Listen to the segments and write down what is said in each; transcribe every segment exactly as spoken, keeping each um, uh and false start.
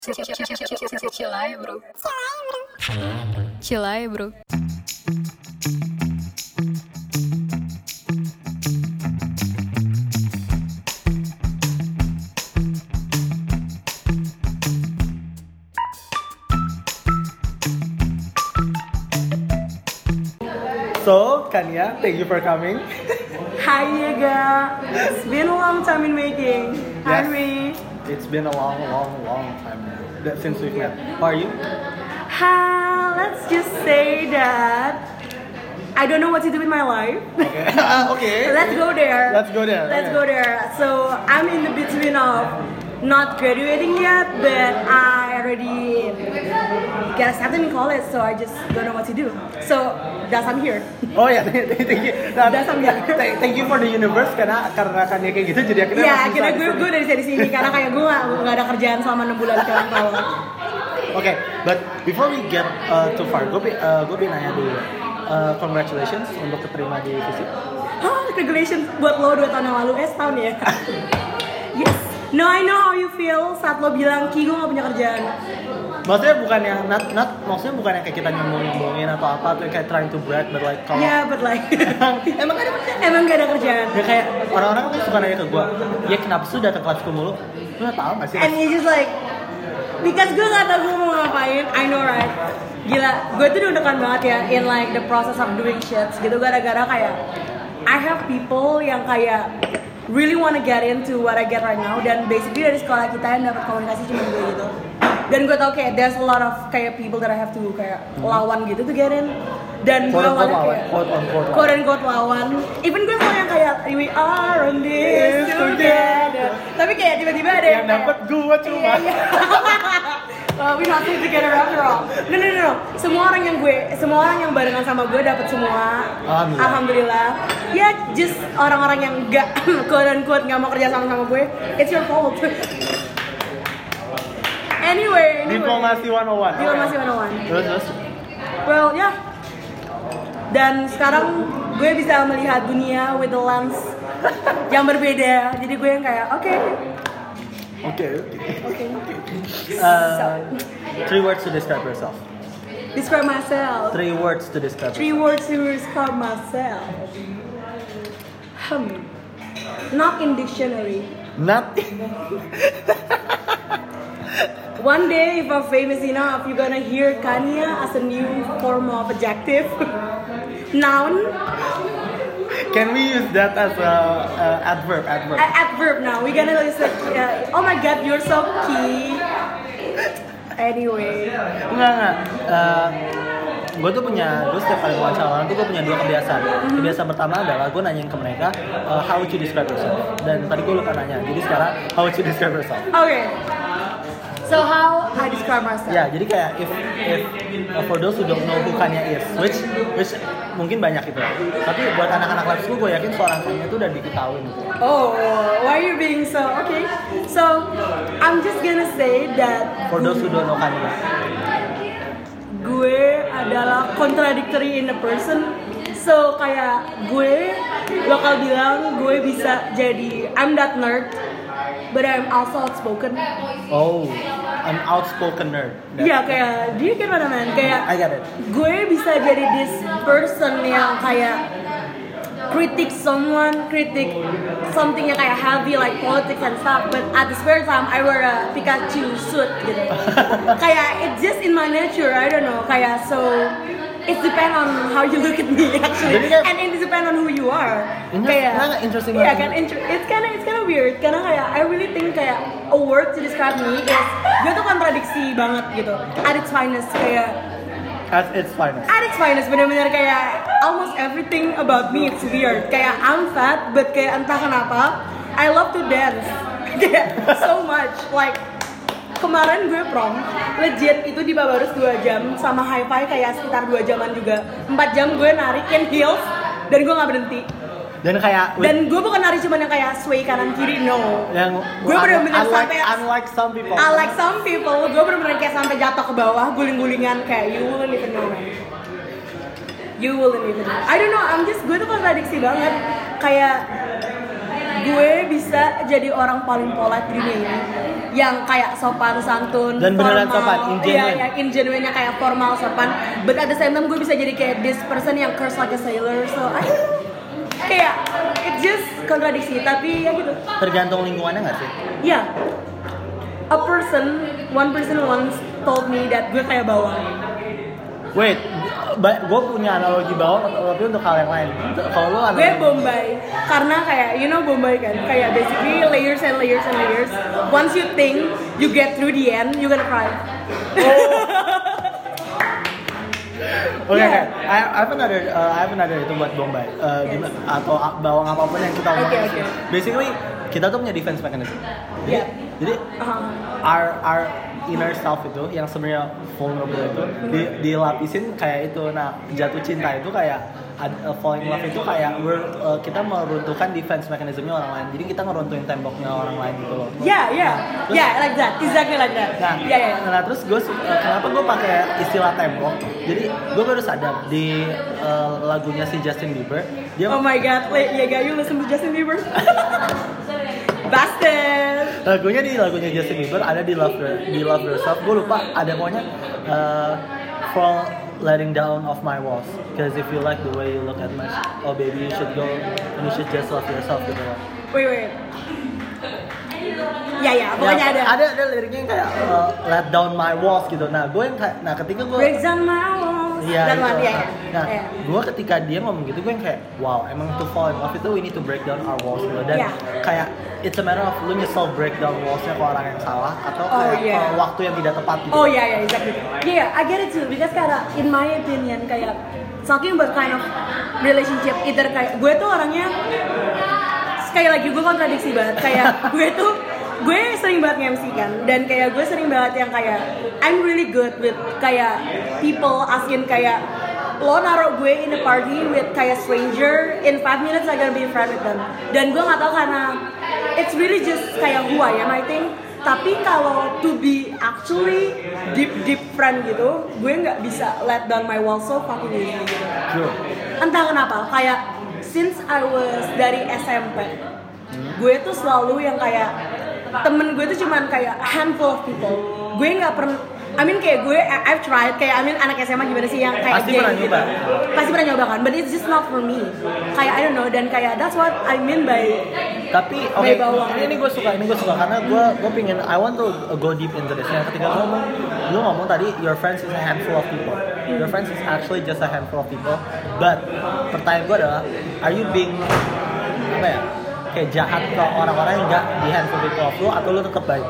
Cilai bro. Cilai bro. So, Kania, thank you for coming. Hi, Yega. It's been a long time in making. Hi, Yes. me. It's been a long, long, long time that since we've met. How are you? Ha, let's just say that I don't know what to do with my life. Okay. okay. Let's go there. Let's go there. Let's okay. go there. So I'm in the between of not graduating yet, but I already got accepted in college, so I just don't know what to do. So that's I'm here. Oh ya, thank you. Nah, That's something. thank, thank you for the universe karena karena Kania kayak gitu jadi akhirnya Ya, masih akhirnya bisa gue di gue sini. dari sini sini karena kayak gue gak, gak ada kerjaan selama enam bulan sekarang kalau. Okay, but before we get uh, too far, gue pi- uh, gue pengen nanya dulu. Uh, congratulations untuk keterima di Visip. Oh, congratulations buat lo dua tahun yang lalu, eh setahun ya. Yes. No, I know how you feel saat lo bilang Ki gue gak punya kerjaan. Maksudnya bukan yang not, not maksudnya bukan yang kayak kita nyombong-nyombongin atau apa tuh kayak trying to brag, but like kalau Ya, yeah, but like emang gak ada emang gak ada kerjaan. ya kayak orang-orang kan suka nanya ke gue, ya kenapa sih datang kelas ke mulu? Lu gak tau gak sih? And you just like because gue gak tau gue mau ngapain. I know right. Gila, gue tuh deg-degan banget ya in like the process of doing shit gitu gara-gara kayak I have people yang kayak really wanna get into what I get right now dan basically dari sekolah kita yang dapat komunikasi cuma gue gitu. Dan gue tau kayak there's a lot of kayak people that I have to kayak lawan gitu to get in. Dan gue Quote unquote awalnya lawan, kayak quote unquote lawan. quote unquote lawan. Even gue selalu yang kayak we are on this together. Tapi kayak tiba-tiba ada Yang yang kayak, dapet gue cuma. Iya, iya. Uh, we not together after all. No, no, no, no. Semua orang yang gue, semua orang yang barengan sama gue dapat semua. Alhamdulillah. Alhamdulillah. Ya, just orang-orang yang gak quote unquote nggak mau kerja sama sama gue. It's your fault. Anyway, anyway. Diplomasi seratus satu. Diplomasi seratus satu. Terus terus. Well, ya. Yeah. Dan sekarang gue bisa melihat dunia with the lens yang berbeda. Jadi gue yang kayak, oke, Oke. oke. Uh, Three words to describe yourself. Describe myself. Three words to describe. Three words to describe myself. Hmm. Not in dictionary. Not. One day, if I'm famous enough, you're gonna hear Kania as a new form of adjective. Noun. Can we use that as a uh, adverb? Adverb. A- adverb now. We're gonna listen. Uh, oh my God, you're so cute. Anyway. Enggak enggak. Uh, gue tuh punya, gue setiap kali wawancara orang tuh gue punya dua kebiasaan. Kebiasaan pertama adalah gue nanyain ke mereka uh, how would you describe yourself. Dan tadi gue lupa nanya. Jadi sekarang how would you describe yourself? Okay. So how I describe myself? Ya, jadi kayak if if uh, for those who don't know who Kania is, which which mungkin banyak gitu. Tapi buat anak-anak lab school gue yakin seorang Kania itu udah diketahui gitu. Oh, why are you being so okay? So I'm just gonna say that For those who don't know Kania. gue adalah contradictory in a person. So kayak gue bakal bilang gue bisa jadi I'm that nerd, but I'm also outspoken. Oh, an outspoken nerd. That- Iya kayak dia kayak mana man kayak I got it. gue bisa jadi this person yang kayak kritik someone, kritik something yang kayak heavy like politics and stuff, but at the spare time I wear a Pikachu suit gitu. Kayak it's just in my nature, I don't know. Kayak so it depends on how you look at me actually, Jadi kayak- and it depends on who you are. Ini Kayak nggak interesting Iya banget. kan, inter- it's kind of it's kind of weird karena kayak I really think kayak a word to describe me is gue tuh kontradiksi banget gitu. At its finest kayak At its finest. At its finest, bener-bener kayak almost everything about me it's weird. Kayak I'm fat, but kayak entah kenapa I love to dance. Kayak so much. Like kemarin gue prom, legit itu di Babarus dua jam sama hi-fi kayak sekitar dua jaman juga. empat jam gue narikin heels dan gue nggak berhenti. Dan kayak Dan gue bukan nari cuman yang kayak sway kanan kiri, no. yang gue bener-bener unlike, sampai unlike some people. Unlike some people, gue bener-bener kayak sampai jatuh ke bawah, guling-gulingan kayak you wouldn't even know man. You wouldn't even know. I don't know, I'm just, gue tuh kontradiksi banget. Kayak gue bisa jadi orang paling polite di dunia ini, yang kayak sopan santun, dan beneran sopan, in iya, genuine. ya, in genuine kayak formal sopan. But at the same time gue bisa jadi kayak this person yang curse like a sailor. So I kayak it just kontradiksi, tapi ya gitu. Tergantung lingkungannya nggak sih? Ya, yeah. A person, one person once told me that gue kayak bawang. Wait, gue punya analogi bawang tapi untuk hal yang lain. Kalau lo analogi... Gue Bombay, karena kayak you know Bombay kan, kayak basically layers and layers and layers. Once you think you get through the end, you gonna cry. Oke, okay, Yeah. okay. I, I have another, uh, I have another itu buat Bombay uh, Yes. gimana- atau bawang apapun yang kita omongin. Okay, okay. Basically kita tuh punya defense mechanism. Jadi, Yeah. jadi Uh-huh. our our inner self itu yang sebenarnya vulnerable itu di, dilapisin kayak itu. Nah, jatuh cinta itu kayak uh, falling in love itu kayak we're, uh, kita meruntuhkan defense mechanismnya orang lain. Jadi kita ngeruntuhin temboknya orang lain gitu loh. Yeah, yeah, Terus- yeah, like that, exactly like that. Nah, yeah, yeah. nah terus gue uh, kenapa gue pakai istilah tembok? Jadi gue baru sadar di uh, lagunya si Justin Bieber dia Oh my god, wait, yeah, guys, you listen to Justin Bieber? Bastard. lagunya di lagunya Justin Bieber ada di Love Your- di Love Yourself. Gue lupa ada pokoknya uh, for letting down of my walls. Because if you like the way you look at me, oh baby you should go and you should just love yourself gitu loh. Wait, wait. Ya, ya, pokoknya Ya, ada. ada ada liriknya yang kayak uh, let down my walls gitu. Nah gue yang kayak nah ketika gue Breaks down my walls. Iya, Dan itu. one, ya, ya. Nah, Ya. gue ketika dia ngomong gitu, gue yang kayak, wow, emang to fall in love itu we need to break down our walls gitu. Dan Ya. kayak it's a matter of lu nyesel break down wallsnya ke orang yang salah atau Oh, kayak iya. ke waktu yang tidak tepat gitu. Oh yeah, yeah, exactly. Yeah, I get it too. Because kayak in my opinion kayak talking about kind of relationship, either kayak gue tuh orangnya sekali lagi gue kontradiksi banget. Kayak gue tuh gue sering banget nge-M C kan, dan kayak gue sering banget yang kayak I'm really good with kayak people asking kayak lo naruh gue in a party with kayak stranger, in five minutes I gonna be friend with them. Dan gue nggak tahu karena it's really just kayak who I am I think. Tapi kalau to be actually deep deep friend gitu, gue nggak bisa let down my wall so fucking easily gitu. True. Entah kenapa, kayak since I was dari S M P, gue tuh selalu yang kayak temen gue tuh cuman kayak a handful of people. Gue nggak pernah, I mean kayak gue, I- I've tried, kayak I mean anak S M A gimana sih yang kayak Pasti gay pernah gitu. nyoba. Pasti pernah nyoba kan, but it's just not for me. Kayak I don't know, dan kayak that's what I mean by Tapi oke, May bawang. ini, ini gue suka, ini gue suka karena gue gue pingin I want to go deep into this. Nah, ketika lu ngomong, lu ngomong tadi your friends is a handful of people. Your friends is actually just a handful of people. But pertanyaan gue adalah, are you being apa ya? Kayak jahat ke orang-orang yang nggak di handful people of lu atau lu tetap baik?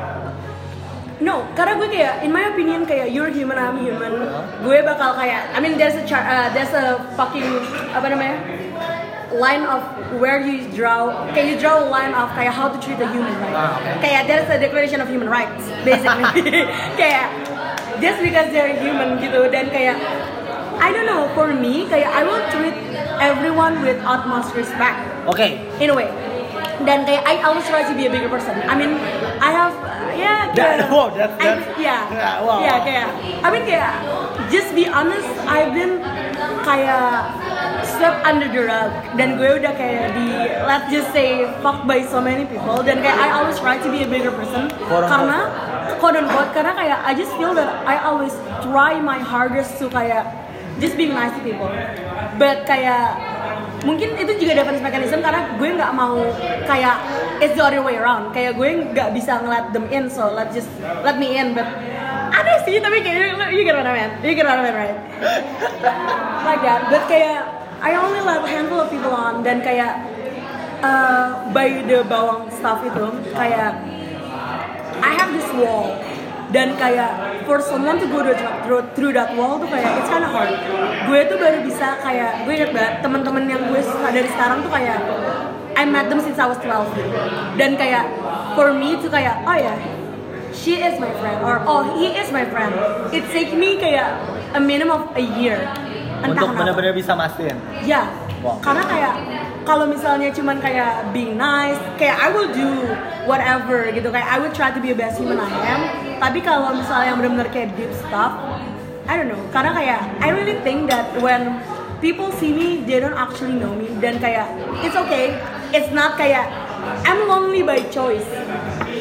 No, karena gue kayak, in my opinion kayak you're human, I'm human. Gue bakal kayak, I mean there's a char, uh, there's a fucking apa namanya line of where you draw, kayak you draw a line of kayak how to treat a human, right? Ah, okay. Kayak there's a declaration of human rights, basically. Kayak just because they're human gitu, dan kayak I don't know, for me kayak I will treat everyone with utmost respect. Oke, In a way. Dan kayak I always try to be a bigger person. I mean, I have uh, yeah, That- kayak, wow, that's- I, that's- yeah, yeah, wow. yeah, kayak I mean kayak just be honest, I've been kayak swept under the rug, dan gue udah kayak di let's just say fucked by so many people, dan kayak I always try to be a bigger person Quote unquote. karena quote unquote karena kayak I just feel that I always try my hardest to kayak just being nice to people, but kayak mungkin itu juga defense mechanism karena gue nggak mau kayak it's the other way around, kayak gue nggak bisa nge-let them in, so let just let me in, but aneh sih, tapi kayak you get what I mean, you get what I mean, right? Like that, but kayak I only let a handful of people on, dan kayak uh, by the bawang stuff itu kayak I have this wall, dan kayak for someone to go through, through that wall tuh kayak it's kind of hard. Gue tuh baru bisa kayak gue inget banget teman-teman yang gue suka dari sekarang tuh kayak I met them since I was twelve gitu. Dan kayak for me tuh kayak oh ya, she is my friend or oh he is my friend. It take me kayak a minimum of a year. Entah untuk kenapa. benar-benar bisa mastiin. Ya, Wow. karena kayak kalau misalnya cuman kayak being nice, kayak I will do whatever gitu, kayak I will try to be the best human I am. Tapi kalau misalnya yang benar-benar kayak deep stuff, I don't know. Karena kayak I really think that when people see me, they don't actually know me. Dan kayak it's okay, it's not kayak I'm lonely by choice.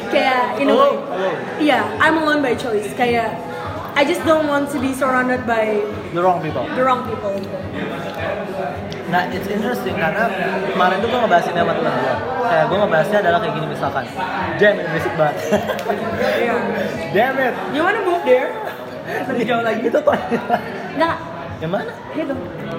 kayak in a way. Alone, alone. Iya, I'm alone by choice. Kayak I just don't want to be surrounded by The wrong people. the wrong people. Nah, it's interesting karena kemarin tuh gue ngebahas ini sama temen gue. Kayak gue ngebahasnya adalah kayak gini misalkan. Damn it, berisik banget. Iya. Damn it. You wanna move there? Lebih jauh lagi. Itu tuh. Enggak. Yang mana? Gitu.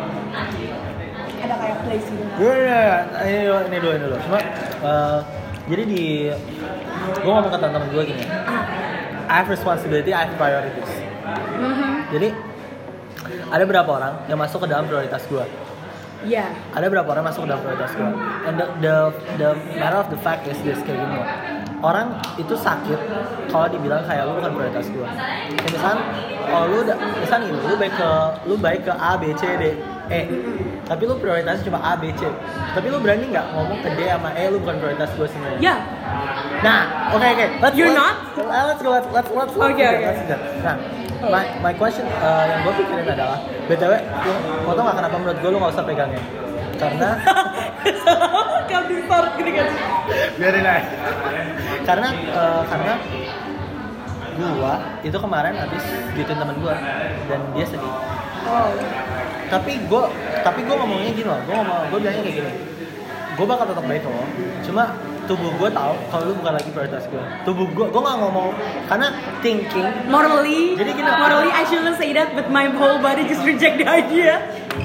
Ada kayak place gitu. Iya, iya, iya. Ini dulu, ini dulu, ini dulu. Cuma, uh, jadi di... Gue ngomong ke temen-temen gue gini. Ah. I have responsibility, I have priorities. Mhm. Jadi, ada berapa orang yang masuk ke dalam prioritas gue? Iya. Ada berapa orang masuk ke dalam prioritas gue? And the, the, the matter of the fact is this, kayak gini loh. Orang itu sakit kalau dibilang kayak lu bukan prioritas gue. Kayak misalkan, oh lu udah, misalkan ini, lu baik ke, lu baik ke A, B, C, D, E. Tapi lu prioritasnya cuma A, B, C. Tapi lu berani nggak ngomong ke D sama E, lu bukan prioritas gue sebenarnya? Ya. Nah, oke okay, oke. Okay. You're let's, not? Let's go, let's let's let's. Oke Okay, oke. okay. Nah, my my question uh, yang gue pikirin adalah, B T W, lu mau tau nggak kenapa menurut gue lu nggak usah pegangnya? Karena Kamu di start gini kan? biarin aja. Karena uh, karena gua itu kemarin habis gituin temen gua dan dia sedih. Oh. Tapi gua tapi gua ngomongnya gini loh. Gua ngomong gua bilangnya kayak gini. Gua bakal tetap baik loh. Cuma tubuh gua tahu kalau lu bukan lagi prioritas gua. Tubuh gua gua nggak ngomong karena thinking Morally, Jadi gini, morally I shouldn't say that, but my whole body just reject the idea.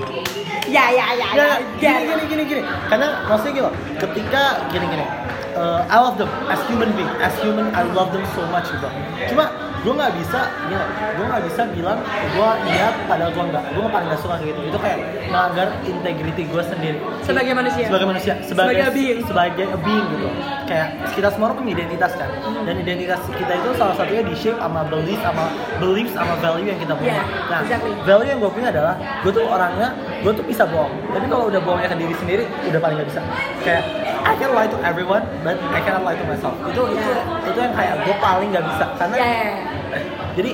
Ya ya ya ya. Ya, gini gini gini gini. Karena maksudnya gini loh. Ketika gini gini. Uh, I love them as human being, as human I love them so much gitu. Cuma gue nggak bisa, gini, gue nggak bisa bilang gue iya padahal gue nggak, gue paling nggak suka kayak gitu. Itu kayak melanggar integrity gue sendiri. Sebagai manusia. Sebagai manusia, sebagai Sebagai a being. sebagai a being gitu. Kayak kita semua orang punya identitas kan, dan identitas kita itu salah satunya di shape sama belief sama belief sama value yang kita punya. Yeah, nah, exactly. value yang gue punya adalah gue tuh orangnya, gue tuh bisa bohong. Tapi kalau udah bohongnya ke diri sendiri, udah paling nggak bisa. Kayak I can lie to everyone, but I cannot lie to myself. Itu itu Yeah. itu yang kayak gue paling nggak bisa karena Ya ya. jadi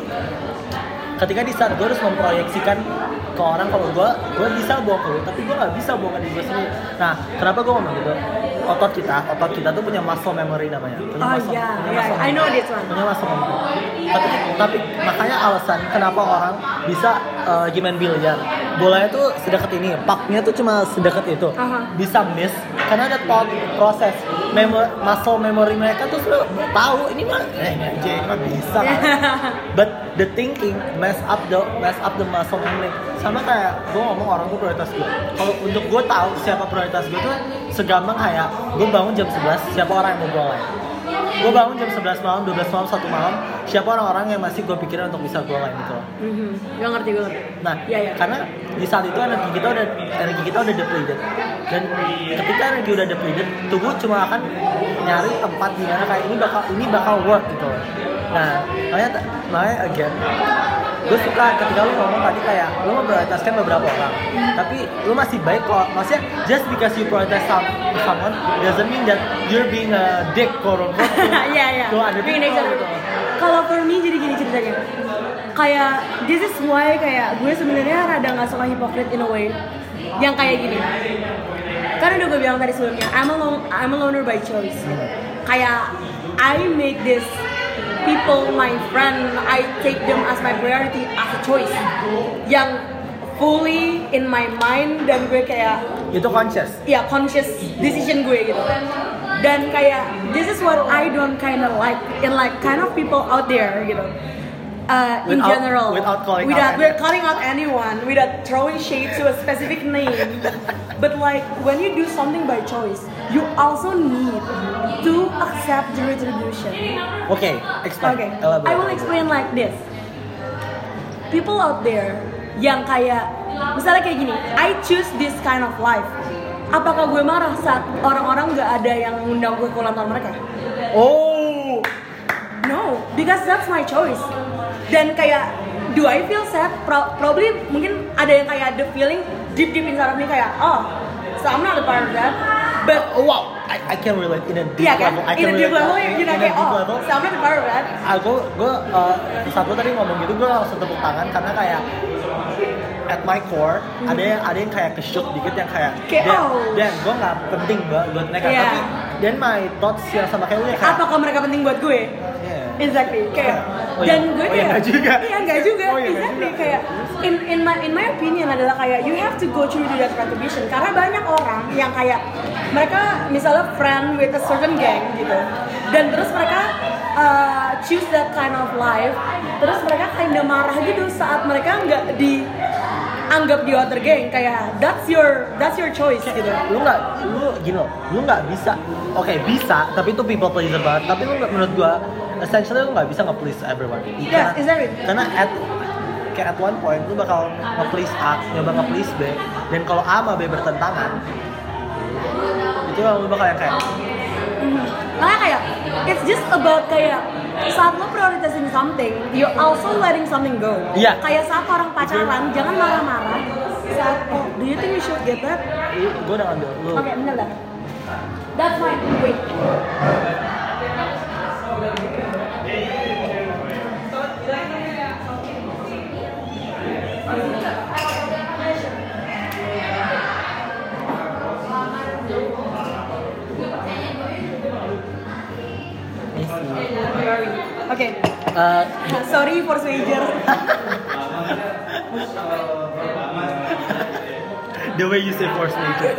ketika di saat gue harus memproyeksikan ke orang kalau gue gue bisa bohong ke lu, tapi gue nggak bisa bohong ke diri gue sendiri. Nah, kenapa gue ngomong gitu? Otot kita, otot kita tuh punya muscle memory namanya. Punya Oh muscle, iya, punya iya, muscle I know memory. this one. Punya muscle memory. Tapi, tapi makanya alasan kenapa orang bisa uh, gimana biliar. Bolanya tuh sedekat ini, pucknya tuh cuma sedekat itu. Aha. Bisa miss karena ada thought proses. Memo, muscle memory mereka tuh sudah tahu ini mah eh ini aja ini mah bisa. But the thinking mess up the mess up the muscle memory. Sama kayak gue ngomong orang tuh prioritas gue. Kalau untuk gue tahu siapa prioritas gue tuh segampang kayak gue bangun jam sebelas, siapa orang yang mau gue lain. Gue bangun jam sebelas malam, dua belas malam, satu malam, siapa orang-orang yang masih gue pikirin untuk bisa gue lain gitu loh. Mhm. Gak ngerti gue ngerti. Nah, ya, ya. karena di saat itu energi kita udah energi kita udah depleted. Dan ketika energi udah depleted, tubuh cuma akan nyari tempat di mana kayak ini bakal ini bakal work gitu loh. Nah, makanya makanya again gue suka ketika lu ngomong tadi kayak lu memprioritaskan beberapa orang, tapi lu masih baik kok. Maksudnya just because you prioritize some, someone doesn't mean that you're being a dick quote unquote to, Iya iya. to other Being people nature. gitu. Kalau for me jadi gini ceritanya. Kayak this is why kayak gue sebenarnya rada nggak suka hypocrite in a way. Yang kayak gini. Karena udah gue bilang tadi sebelumnya, I'm a lone, I'm a loner by choice. Kayak I make this people my friend, I take them as my priority as a choice. Yang fully in my mind dan gue kayak Itu conscious. ya conscious decision gue gitu. Dan kayak this is what I don't kind of like in like kind of people out there gitu. Uh, in Without- general, without calling without, out we're any- calling out anyone, without throwing shade to a specific name. But like when you do something by choice, you also need to accept the retribution. Oke, explain. Okay, Elaborate. I will explain like this. People out there yang kayak, misalnya kayak gini, I choose this kind of life. Apakah gue marah saat orang-orang gak ada yang ngundang gue ke ulang tahun mereka? Oh, No, because that's my choice. Dan kayak, do I feel sad? Pro- probably mungkin ada yang kayak the feeling deep deep inside of me kayak, oh, so I'm not a part of that. But oh wow, I, I can relate in a deep iya kan, level. I in can a deep relate level, in, you know in a kayak, deep oh, level. so I'm not a part of that. Aku, gue, uh, saat lo tadi ngomong gitu, gue langsung tepuk tangan karena kayak at my core Hmm. ada yang ada yang kayak ke-shock dikit yang kayak, Kayak, dan, oh. dan gue nggak penting banget buat mereka, Iya. tapi dan my thoughts yang sama kayak lu ya kayak apakah mereka penting buat gue? yeah. Exactly, kayak Oh, dan iya. gue Oh, iya, kayak nggak juga. iya nggak juga, Oh, iya, nggak exactly juga. kayak in in my in my opinion adalah kayak you have to go through that retribution karena banyak orang yang kayak mereka misalnya friend with a certain gang gitu dan terus mereka uh, choose that kind of life terus mereka kinda marah gitu saat mereka nggak dianggap di other gang kayak that's your that's your choice gitu. Lu nggak, lu gini loh, lu nggak bisa, oke bisa, tapi itu people pleaser banget. Tapi lu nggak, menurut gua, essentially lu nggak bisa nge-please everyone. Yes, exactly. Karena at kayak at one point lu bakal nge-please A, nyoba nge-please B, dan kalau A sama B bertentangan, itu lu bakal yang kayak Makanya kayak it's just about kayak saat lo prioritasin something, you also letting something go. Iya. Kayak saat orang pacaran, jangan marah-marah. Saat oh, do you think we should get that? gue udah ngambil lu. Oke, bener dah. That's fine. Wait. Oke. Uh, Sorry for stranger. the way you say force nature.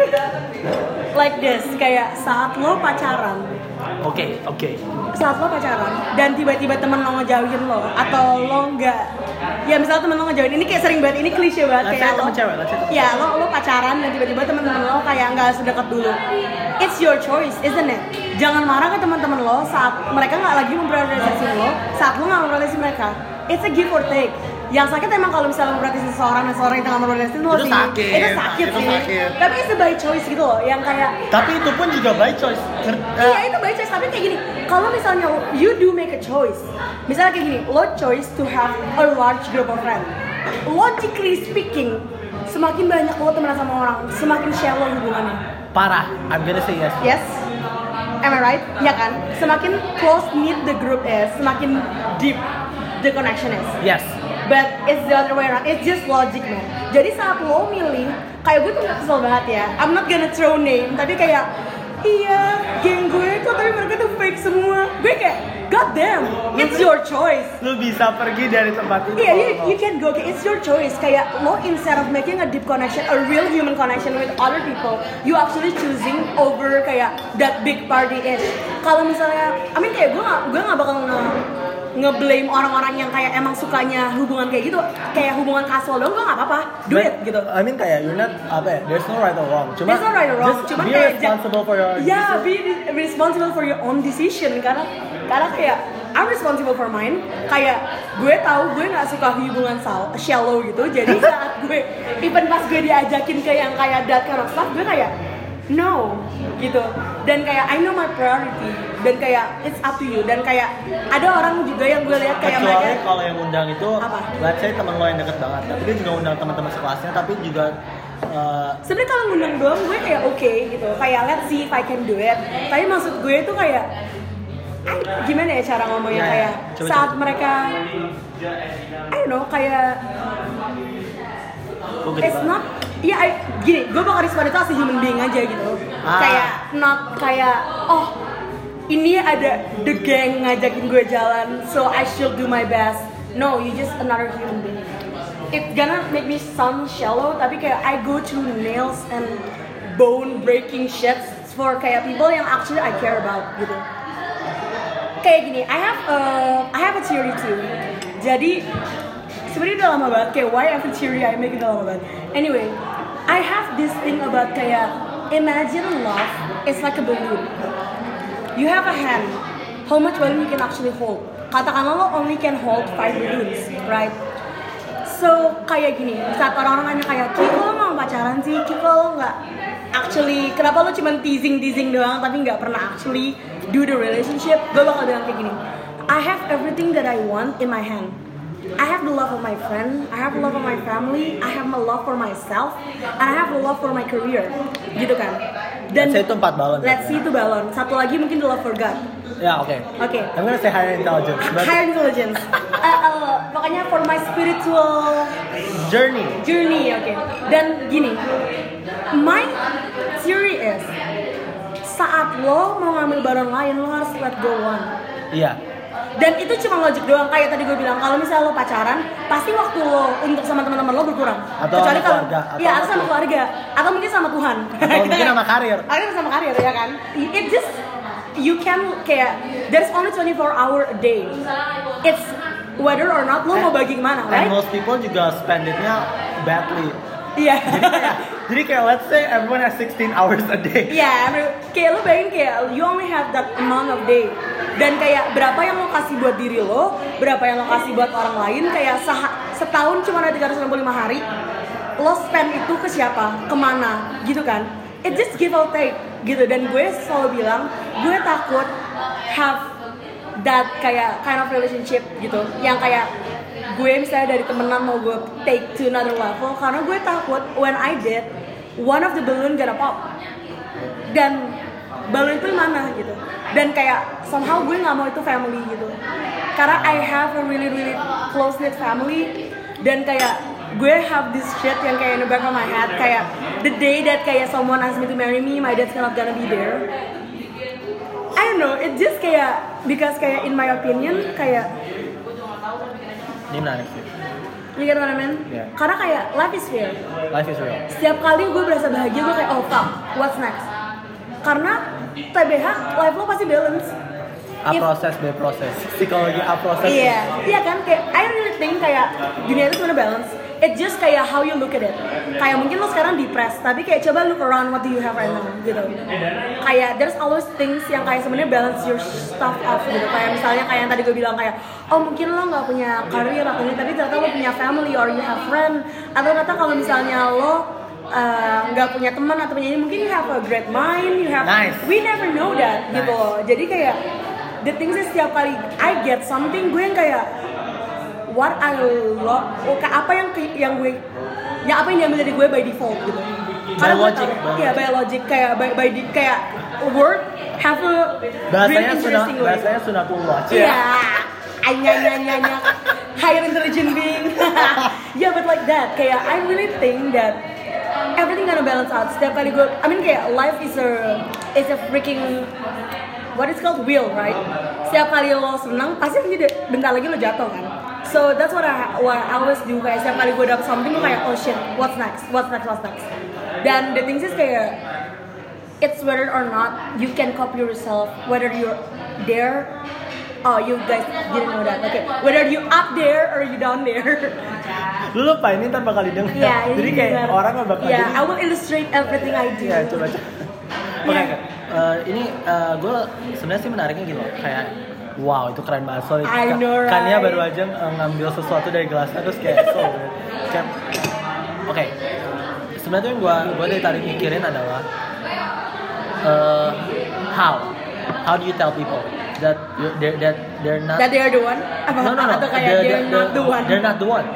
Like this, kayak saat lo pacaran, Oke, oke. saat lo pacaran dan tiba-tiba temen lo ngejauhin lo atau lo nggak, ya misalnya temen lo ngejauhin, ini kayak sering banget, ini klise banget Let's say kayak lo, temen cewek, let's say temen ya lo lo pacaran dan tiba-tiba temen-temen lo kayak nggak sedekat dulu. It's your choice, isn't it? Jangan marah ke teman-teman lo saat mereka nggak lagi memprioritasasi lo, saat lo nggak memprioritasasi mereka. It's a give or take. Yang sakit emang kalau misalnya memprioritasasi seseorang dan seseorang yang tengah memprioritasasi lo Itu sih. sakit, Itu sakit itu sih. sakit. Tapi it's a by choice gitu loh, yang kayak Tapi itu pun juga by choice. Nger- iya itu by choice, tapi kayak gini, kalau misalnya you do make a choice, misalnya kayak gini, lo choice to have a large group of friends, logically speaking, semakin banyak lo temenan sama orang, semakin shallow hubungannya. Parah. I'm gonna say yes. Yes? Am I right? Ya kan? Semakin close knit the group is, semakin deep the connection is. Yes. But it's the other way around. It's just logic, man. Jadi saat lo milih, kayak gue tuh gak kesel banget ya. I'm not gonna throw name, tapi kayak iya, geng gue tuh tapi mereka tuh fake semua. Gue kayak, god damn, it's your choice. Lu bisa pergi dari tempat itu. Iya, kalau you, mau. you can go. It's your choice. Kayak lo instead of making a deep connection, a real human connection with other people, you actually choosing over kayak that big party ish. Kalau misalnya, I mean kayak gue gak, gue gak bakal nge nge-blame orang-orang yang kayak emang sukanya hubungan kayak gitu, kayak hubungan casual dong, gue gak apa-apa, do it gitu. I mean kayak you're not apa ya, there's no right or wrong. Cuma There's no right or wrong, just cuman be kayak responsible for your yeah, decision. be re- responsible for your own decision karena karena kayak I'm responsible for mine. Kayak gue tahu gue nggak suka hubungan sal- shallow gitu, jadi saat gue even pas gue diajakin ke yang kayak that kind of stuff, gue kayak no gitu. Dan kayak I know my priority dan kayak it's up to you. Dan kayak ada orang juga yang gue lihat kayak Kecuali mereka kalau yang undang itu, Apa? let's say teman lo yang deket banget, tapi dia juga undang teman-teman sekelasnya, tapi juga uh, sebenarnya kalau ngundang doang gue kayak oke okay, gitu, kayak let's see if I can do it. Tapi maksud gue itu kayak I- gimana ya cara ngomongnya, Ya, ya. kayak Coba, saat coba. mereka I don't know kayak gue gede it's banget. not iya I- gini, gue bakal respon itu as a human being aja gitu. Ah. Kayak not kayak oh ini ada the gang ngajakin gue jalan so I should do my best. No, you just another human being. It gonna make me sound shallow, tapi kayak I go through nails and bone breaking shit for kayak people yang actually I care about gitu. Kayak gini, I have a I have a theory too. Jadi sebenarnya udah lama banget kayak why every theory I make udah lama banget. Anyway, I have this thing about kayak imagine love is like a balloon. You have a hand. How much balloon you can actually hold? Katakanlah lo only can hold five balloons, right? So kayak gini, saat orang-orang nanya kayak Ki, kok lo mau pacaran sih? Ki, kok lo nggak actually, kenapa lo cuma teasing-teasing doang tapi nggak pernah actually do the relationship? Gue bakal bilang kayak gini, I have everything that I want in my hand. I have the love of my friend, I have the love of my family, I have my love for myself, and I have the love for my career, gitu kan? Dan Let's say itu empat balon. Let's see itu balon. Satu lagi mungkin the love for God. Ya oke. Oke. I'm gonna say higher intelligence. But Higher intelligence. uh, uh, makanya for my spiritual journey. journey, oke. Dan gini, my theory is saat lo mau ngambil balon lain lo harus let go one. Iya. Dan itu cuma logic doang, kayak tadi gue bilang kalau misalnya lo pacaran pasti waktu lo untuk sama teman-teman lo berkurang. Atau kecuali sama kalau keluarga, atau iya sama atau sama keluarga atau mungkin sama Tuhan Atau mungkin sama karir. atau sama karir ya kan. It just you can kayak there's only twenty-four hour a day. It's whether or not lo mau bagi kemana, right? And most people juga spend it-nya badly. Iya. Jadi kayak, jadi kayak let's say everyone has sixteen hours a day. Iya, yeah, kayak lo bayangin kayak you only have that amount of day. Dan kayak berapa yang lo kasih buat diri lo, berapa yang lo kasih buat orang lain, kayak sah- setahun cuma ada tiga ratus enam puluh lima hari. Lo spend itu ke siapa, kemana, gitu kan? It just give or take, gitu. Dan gue selalu bilang, gue takut have that kayak kind of relationship gitu, yang kayak gue misalnya dari temenan mau gue take to another level, karena gue takut when I did one of the balloon gonna pop dan balon itu mana gitu, dan kayak somehow gue nggak mau itu family gitu, karena I have a really really close knit family, dan kayak gue have this shit yang kayak in the back of my head, kayak the day that kayak someone asks me to marry me, my dad's not gonna be there. I don't know, it just kayak because kayak in my opinion kayak Ini menarik sih. you get what I mean? Yeah. Karena kayak life is fair. Life is real. Setiap kali gue berasa bahagia gue kayak oh fuck, what's next? Karena T B H life lo pasti balance. A If- proses, B proses. Psikologi A proses. Iya, iya kan kayak I really think kayak dunia itu sebenarnya balance. It just kayak how you look at it. Kayak mungkin lo sekarang depressed, tapi kayak coba look around what do you have right now gitu. Kayak there's always things yang kayak sebenarnya balance your stuff off gitu. Kayak misalnya kayak yang tadi gue bilang kayak oh mungkin lo nggak punya karir atau ini, tapi ternyata lo punya family or you have friend. Atau ternyata kalau misalnya lo nggak uh, punya teman atau punya ini, mungkin you have a great mind, you have Nice. we never know that Nice. gitu loh. Jadi kayak the things is setiap kali I get something gue yang kayak what I love, oh, kayak apa yang yang gue, ya apa yang diambil dari gue by default gitu. Karena gue logic, tahu, by ya by logic kayak by, by di, kayak word have a Bahasanya really sunat, interesting way. bahasanya sunatullah. Iya, anya anya anya anya higher intelligent being. Yeah, but like that, kayak I really think that everything gonna balance out. Setiap kali gue, I mean kayak life is a is a freaking what is called wheel, right? Setiap kali lo senang, pasti nanti bentar lagi lo jatuh kan. So that's what I what I always do. Kayak setiap kali gue dapet something, gue kayak oh shit, what's next, what's next, what's next. Dan the things is kayak it's whether or not you can copy yourself, whether you're there. Oh, you guys didn't know that. Okay, whether you up there or you down there. Lu lupa ini ntar bakal didengar. Yeah, ini Jadi kayak bener. orang bakal Yeah, jadi. I will illustrate everything I do. Iya, coba coba. Oke, Yeah. oke. Eh, ini eh, gue sebenarnya sih menariknya gitu loh. Kayak wow, itu keren banget. Sorry, I know, right? Kania baru aja eh, ngambil sesuatu dari gelasnya terus kayak so weird. Kayak oke. Sebenarnya tuh yang gue gue dari tadi mikirin adalah eh, how how do you tell people that you, they're, that they're not That they are the one? Apa, no no no atau kayak they're, not the one? they're not the one.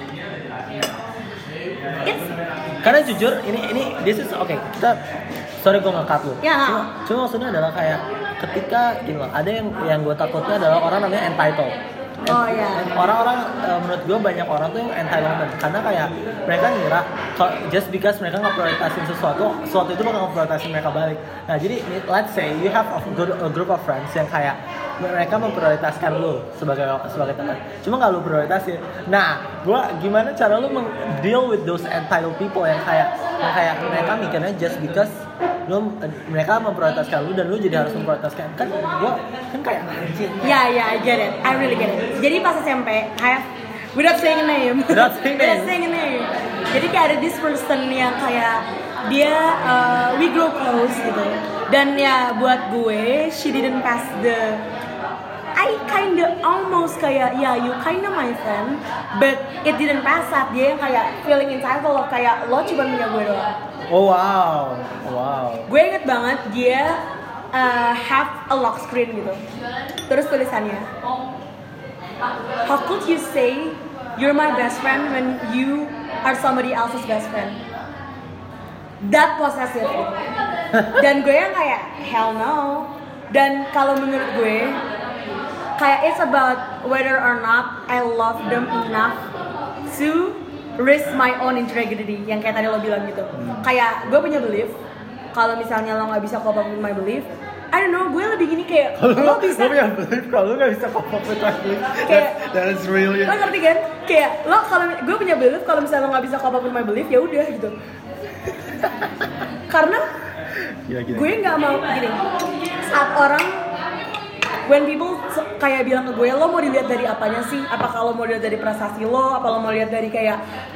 It's Karena jujur ini ini this is oke okay, kita sorry gue nge-cut lu. Ya. Cuma, cuma maksudnya adalah kayak ketika gini loh, ada yang yang gue takutnya adalah orang namanya entitled. Oh, iya. Orang-orang uh, menurut gue banyak orang tuh yang entitlement karena kayak mereka ngira kalau just because mereka nggak prioritasin sesuatu, sesuatu itu bakal ngeprioritasin mereka balik. Nah jadi let's say you have a, good, a group of friends yang kayak mereka memprioritaskan lu sebagai sebagai teman, cuma nggak lu prioritasin. Nah, gua gimana cara lu deal with those entitled people yang kayak yang kayak mereka mikirnya just because lu mereka memprioritaskan lu dan lu jadi harus memprioritaskan kan gua kan kayak anjing. yeah, yeah, I get it. I really get it. Jadi pas S M P, I have without saying a name. Without saying without name. saying a name. Jadi kayak ada this person yang kayak dia uh, we grow close gitu. Dan ya buat gue, she didn't pass the I kinda almost kayak yeah you kinda my friend, but it didn't pass at dia yang kayak feeling entitled of kayak lo cuma punya gue doang. Oh wow, wow. Gue inget banget dia uh, have a lock screen gitu. Terus tulisannya, how could you say you're my best friend when you are somebody else's best friend? That possessive gitu. Dan gue yang kayak hell no. Dan kalau menurut gue kayak it's about whether or not I love them enough to risk my own integrity yang kayak tadi lo bilang gitu. Hmm. Kayak gue punya belief kalau misalnya lo nggak bisa cope up with my belief, I don't know, gue lebih gini kayak Kalau lo lo bisa punya belief, kalau lo nggak bisa cope up with my belief, Kayak- that is really. lo ngerti kan? Kayak lo kalau gue punya belief kalau misalnya lo nggak bisa cope up with my belief ya udah gitu. Karena Gila, gila. gue nggak mau gini saat orang when people se- kayak bilang ke gue lo mau dilihat dari apanya sih, apa kalau mau dilihat dari prestasi lo, apa lo mau lihat dari kayak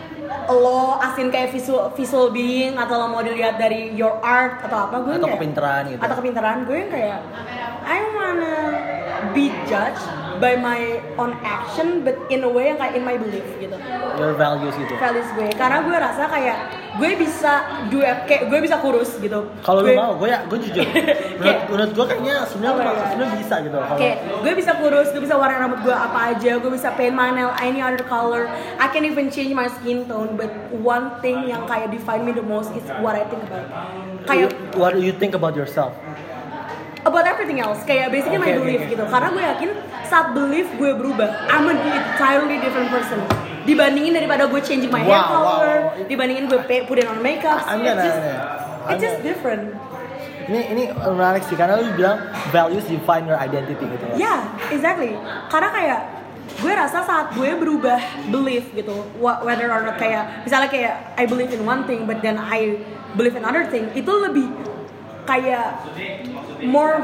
lo asin kayak visual visual being, atau lo mau dilihat dari your art atau apa, gue Atau kayak- kepintaran gitu. atau kepintaran gue yang kayak I wanna be judged by my own action but in a way yang kayak in my belief gitu, Your values gitu. values gue, karena gue rasa kayak gue bisa do kayak gue bisa kurus gitu. Kalau lu Gue- mau, gue ya, gue jujur. Menurut, menurut gue kayaknya sebenarnya Oh, iya. sebenarnya bisa gitu. Kalau Kayak gue bisa kurus, gue bisa warna rambut gue apa aja, gue bisa paint my nail any other color, I can even change my skin tone. But one thing yang kayak define me the most is what I think about. Kayak what do you think about yourself? about everything else, kayak basically my Okay, belief okay. gitu. Karena gue yakin saat belief gue berubah, I'm an entirely different person. Dibandingin daripada gue changing my hair Wow, color, wow. dibandingin gue pay, put in on makeup, I'm it's gonna- just, I'm it's just gonna- different. Ini ini menarik sih karena lu bilang values define your identity gitu. Ya, yeah, exactly. Karena kayak gue rasa saat gue berubah belief gitu, wh- whether or not kayak misalnya kayak I believe in one thing but then I believe in another thing, itu lebih kayak more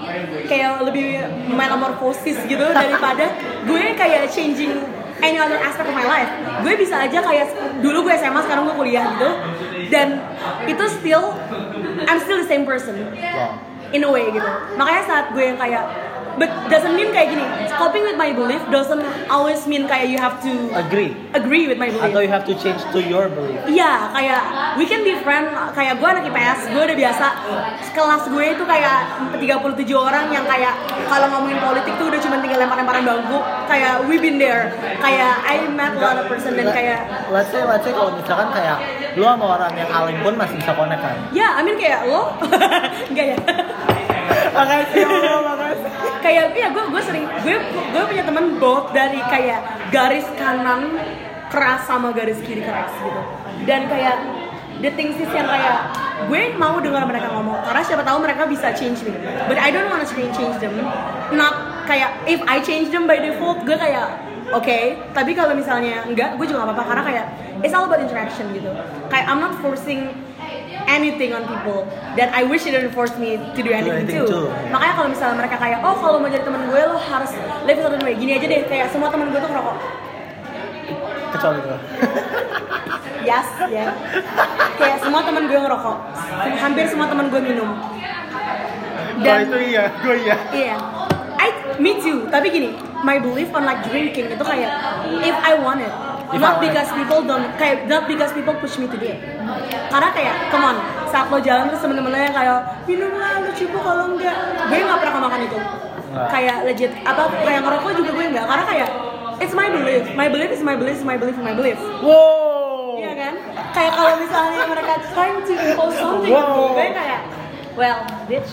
kayak lebih metamorphosis gitu daripada gue kayak changing any other aspect of my life. Gue bisa aja kayak dulu gue S M A, sekarang gue kuliah gitu, dan itu still I'm still the same person. Wow. In a way gitu. Makanya saat gue yang kayak but doesn't mean kayak gini. Coping with my belief doesn't always mean kayak you have to Agree. agree with my belief. Atau you have to change to your belief. Iya, kayak we can be friend. Kayak gue anak I P S, gue udah biasa. Kelas gue itu kayak tiga puluh tujuh orang yang kayak kalau ngomongin politik tuh udah cuma tinggal lempar-lemparan bangku. Kayak we been there. Kayak I met a lot of person dan kayak Let's say, let's say kalau misalkan kayak lu sama orang yang alim pun masih bisa connect kan? ya, I mean kayak lo, enggak ya? Makasih Allah, makasih. Kayak iya gue gue sering gue gue punya teman both dari kayak garis kanan keras sama garis kiri keras gitu, dan kayak the things is yang kayak gue mau dengar mereka ngomong karena siapa tahu mereka bisa change me, but I don't wanna change change them, not kayak if I change them by default gue kayak oke, okay. Tapi kalau misalnya enggak gue juga nggak apa-apa karena kayak it's all about interaction gitu, kayak I'm not forcing anything on people that I wish it didn't force me to do anything, anything too. too. Makanya kalau misalnya mereka kayak, oh kalau mau jadi teman gue lo harus live a certain way. Gini aja deh, kayak semua teman gue tuh ngerokok. Kecuali gue. Yes, ya. Kayak semua teman gue ngerokok. Hampir semua teman gue minum. Kalau itu iya, gue iya. Iya. I, me too. Tapi gini, my belief on like drinking itu kayak if I want it, If not I want because people don't, kayak not because people push me to do it. Karena kayak, come on, saat lo jalan terus temen-temen lo yang kayak minum lah, lu cipu kalau enggak, gue nggak pernah makan itu. Nggak. Kayak legit, apa kayak ngerokok juga gue nggak, karena kayak it's my belief, my belief is my belief, is my belief, is my belief. Wow. Iya kan? Kayak kalau misalnya mereka trying to impose something, Wow. gue kayak, well, bitch.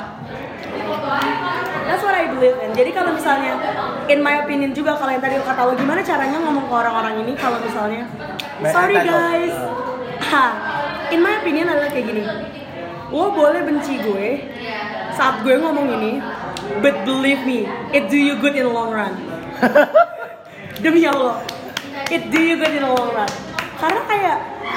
That's what I believe in. Jadi kalau misalnya, in my opinion juga kalau yang tadi lo kata lo gimana caranya ngomong ke orang-orang ini kalau misalnya, sorry guys, ha, in my opinion adalah kayak gini. Lo boleh benci gue saat gue ngomong ini, but believe me, it do you good in the long run. Demi Allah, it do you good in the long run. Karena kayak,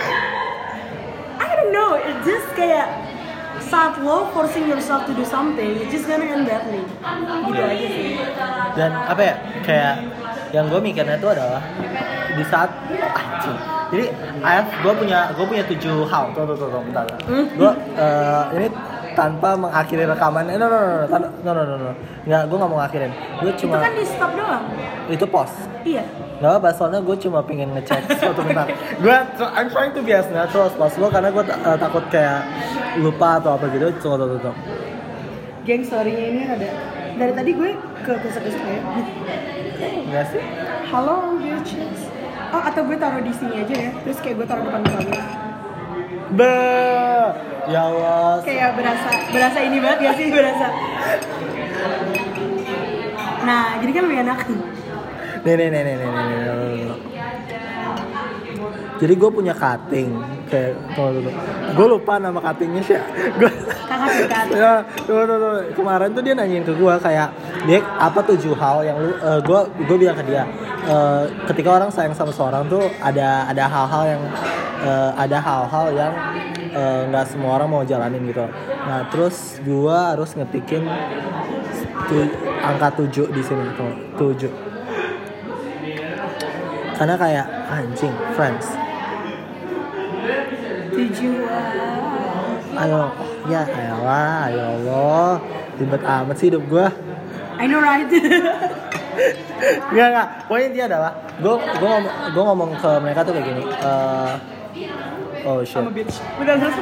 I don't know, it just kayak saat lo forcing yourself to do something, it's just gonna end badly. Gitu aja sih. Dan apa ya, kayak yang gue mikirnya itu adalah di saat anjing. Jadi I have, gue punya gue punya tujuh hal. Tuh tuh tuh, tuh bentar. Hmm? Gue uh, ini tanpa mengakhiri rekaman. Eh, no no no no no no no no no. Nggak, gue nggak mau ngakhirin. Gue Itu cuma kan di stop doang. itu post. Iya. Gak apa, soalnya gue cuma pengen ngecek suatu bentar. Gue, I'm trying to be as natural as possible karena gue uh, takut kayak lupa atau apa gitu. Tunggu, tunggu, tunggu. Geng, story-nya ini ada. Dari tadi gue ke kusuk-kusuk ya. Enggak sih? Halo, bitches. Oh, atau gue taruh di sini aja ya. Terus kayak gue taruh depan kamera. Be, ya Allah. Kayak berasa, berasa ini banget gak sih? Berasa. Nah, jadi kan lebih enak. Nih, nih, nih, nih, nih, nih, nih, nih. Jadi gue punya cutting. kayak tunggu dulu. Gue lupa nama cuttingnya sih. Gue Kakak tingkat. ya, tunggu, tunggu, tunggu. Kemarin tuh dia nanyain ke gue kayak, Dek, apa tujuh hal yang lu, uh, gue gue bilang ke dia, uh, ketika orang sayang sama seorang tuh ada ada hal-hal yang uh, ada hal-hal yang nggak uh, semua orang mau jalanin gitu. Nah terus gue harus ngetikin tu, angka tujuh di sini, tuh, tujuh. Karena kayak anjing, friends. Tujuan. Ayo, ya elah, ya Allah, ribet amat sih hidup gue. I know right. Enggak enggak, poin intinya adalah gue gue ngomong gue ngomong ke mereka tuh kayak gini. Uh, oh shit. I'm a bitch. Udah terus.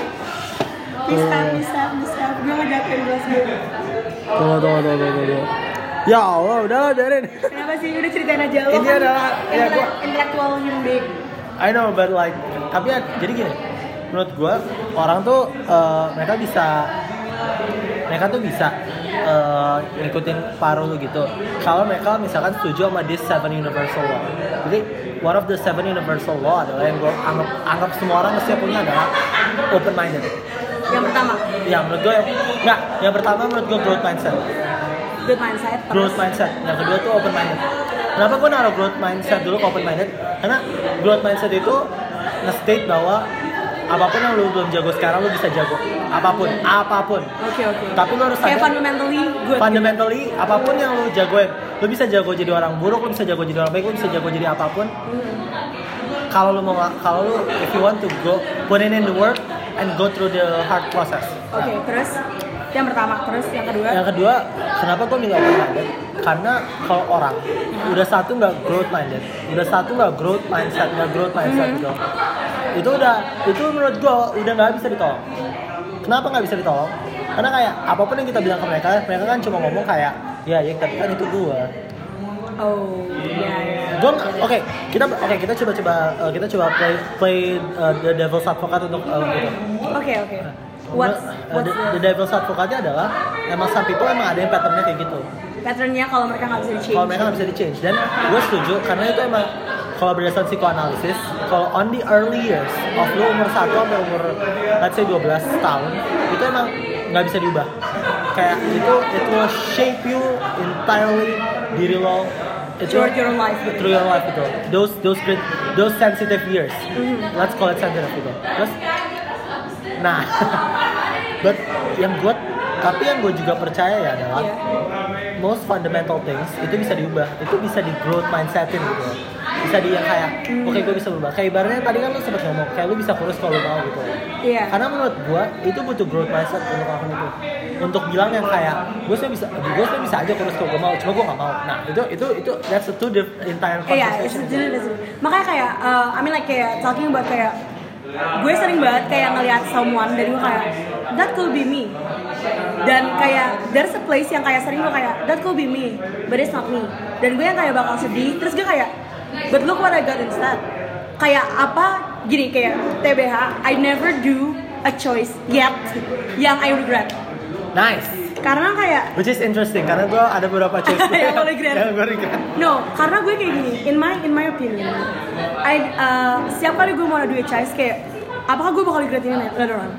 Bisa, bisa, bisa. Gue ngejatuhin gelas gue. Tunggu, tunggu, tunggu, tunggu, tunggu. Ya Allah, udah lah, biarin. Kenapa sih? Udah ceritain aja lo. Ini kan adalah ya gue intellectual human being. I know, but like, tapi ya, jadi gini, menurut gue orang tuh uh, mereka bisa, mereka tuh bisa uh, ngikutin paruh lu gitu. Kalau mereka misalkan setuju sama this seven universal law. Jadi one of the seven universal law adalah yang gue anggap anggap semua orang mesti punya adalah open minded. Yang pertama. Ya menurut gue nggak. Yang pertama menurut gue growth mindset. Growth mindset. Terus. Growth mindset. Yang kedua tuh open minded. Kenapa gue naruh growth mindset dulu ke open minded? Karena growth mindset itu nge-state bahwa apapun yang lu belum jago sekarang lu bisa jago. Apapun, apapun. Oke okay, oke. Okay. Tapi lu harus kayak sadar. fundamentally good. Fundamentally gitu. Apapun yang lu jagoin, lu bisa jago jadi orang buruk, lu bisa jago jadi orang baik, lu bisa jago jadi apapun. Hmm. Kalau lu mau, kalau lu if you want to go put in in the work and go through the hard process. Oke, okay, terus yang pertama, terus yang kedua. Yang kedua, kenapa gue milih open minded? Karena kalau orang udah satu nggak growth minded, udah satu nggak growth mindset, nggak growth mindset mm-hmm. gitu, itu udah, itu menurut gue udah nggak bisa ditolong. Kenapa nggak bisa ditolong? Karena kayak apapun yang kita bilang ke mereka, mereka kan cuma ngomong kayak, ya ya tapi kan itu gue. Oh, iya iya. Gue, oke, okay, kita, oke okay, kita coba-coba, uh, kita coba play play uh, the devil's advocate untuk uh, gitu. Oke okay, oke. Okay. What's, what's the, the devil's advocate-nya adalah emang some people emang ada yang patternnya kayak gitu. Patternnya kalau mereka nggak bisa di-change. Kalau mereka nggak bisa di-change, dan gue setuju karena itu emang kalau berdasarkan psikoanalisis, kalau on the early years of lu umur satu sampai umur let's say dua belas tahun, itu emang nggak bisa diubah. Kayak itu it will shape you entirely diri lo. Through your life. Through your life gitu. Those those great, those sensitive years. Mm-hmm. Let's call it sensitive gitu. Terus, nah, but yang gue, tapi yang gue juga percaya ya adalah yeah. most fundamental things itu bisa diubah, itu bisa di growth mindsetin gitu, bisa di yang kayak, mm. oke okay, gue bisa berubah. Kayak ibaratnya tadi kan lu sempat ngomong, kayak lu bisa kurus kalau lu mau gitu. Yeah. Karena menurut gue itu butuh growth mindset untuk lakukan itu, untuk bilang yang kayak, gue sebenarnya bisa, gue sebenarnya bisa aja kurus kalau gue mau, cuma gue nggak mau. Nah itu itu itu that's a two different entire conversation. Iya, yeah, makanya kayak, uh, I mean like kayak talking about kayak gue sering banget kayak ngelihat someone dan gue kayak that could be me, dan kayak there's a place yang kayak sering gue kayak that could be me but it's not me, dan gue yang kayak bakal sedih terus gue kayak but look what I got instead. Kayak apa gini, kayak T B H I never do a choice yet yang I regret. Nice. Karena kayak which is interesting karena gue ada beberapa choice yang gue regret. yang gue regret. No, karena gue kayak gini, in my in my opinion, I uh, setiap kali gue mau do a choice kayak, apakah gue bakal regret ini later on?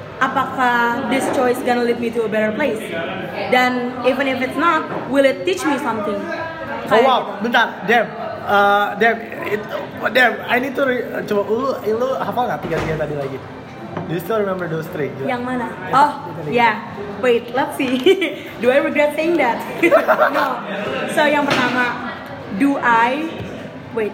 Apakah this choice gonna lead me to a better place? Dan even if it's not, will it teach me something? Kayak oh wow, gitu. Bentar, Dem, uh, Dem, it, Dem, I need to re- coba lu, lu hafal nggak tiga-tiga tadi lagi? Do you still remember those three? Gila. Yang mana? Oh, yeah. Wait, let's see. Do I regret saying that? No. So yang pertama, do I wait?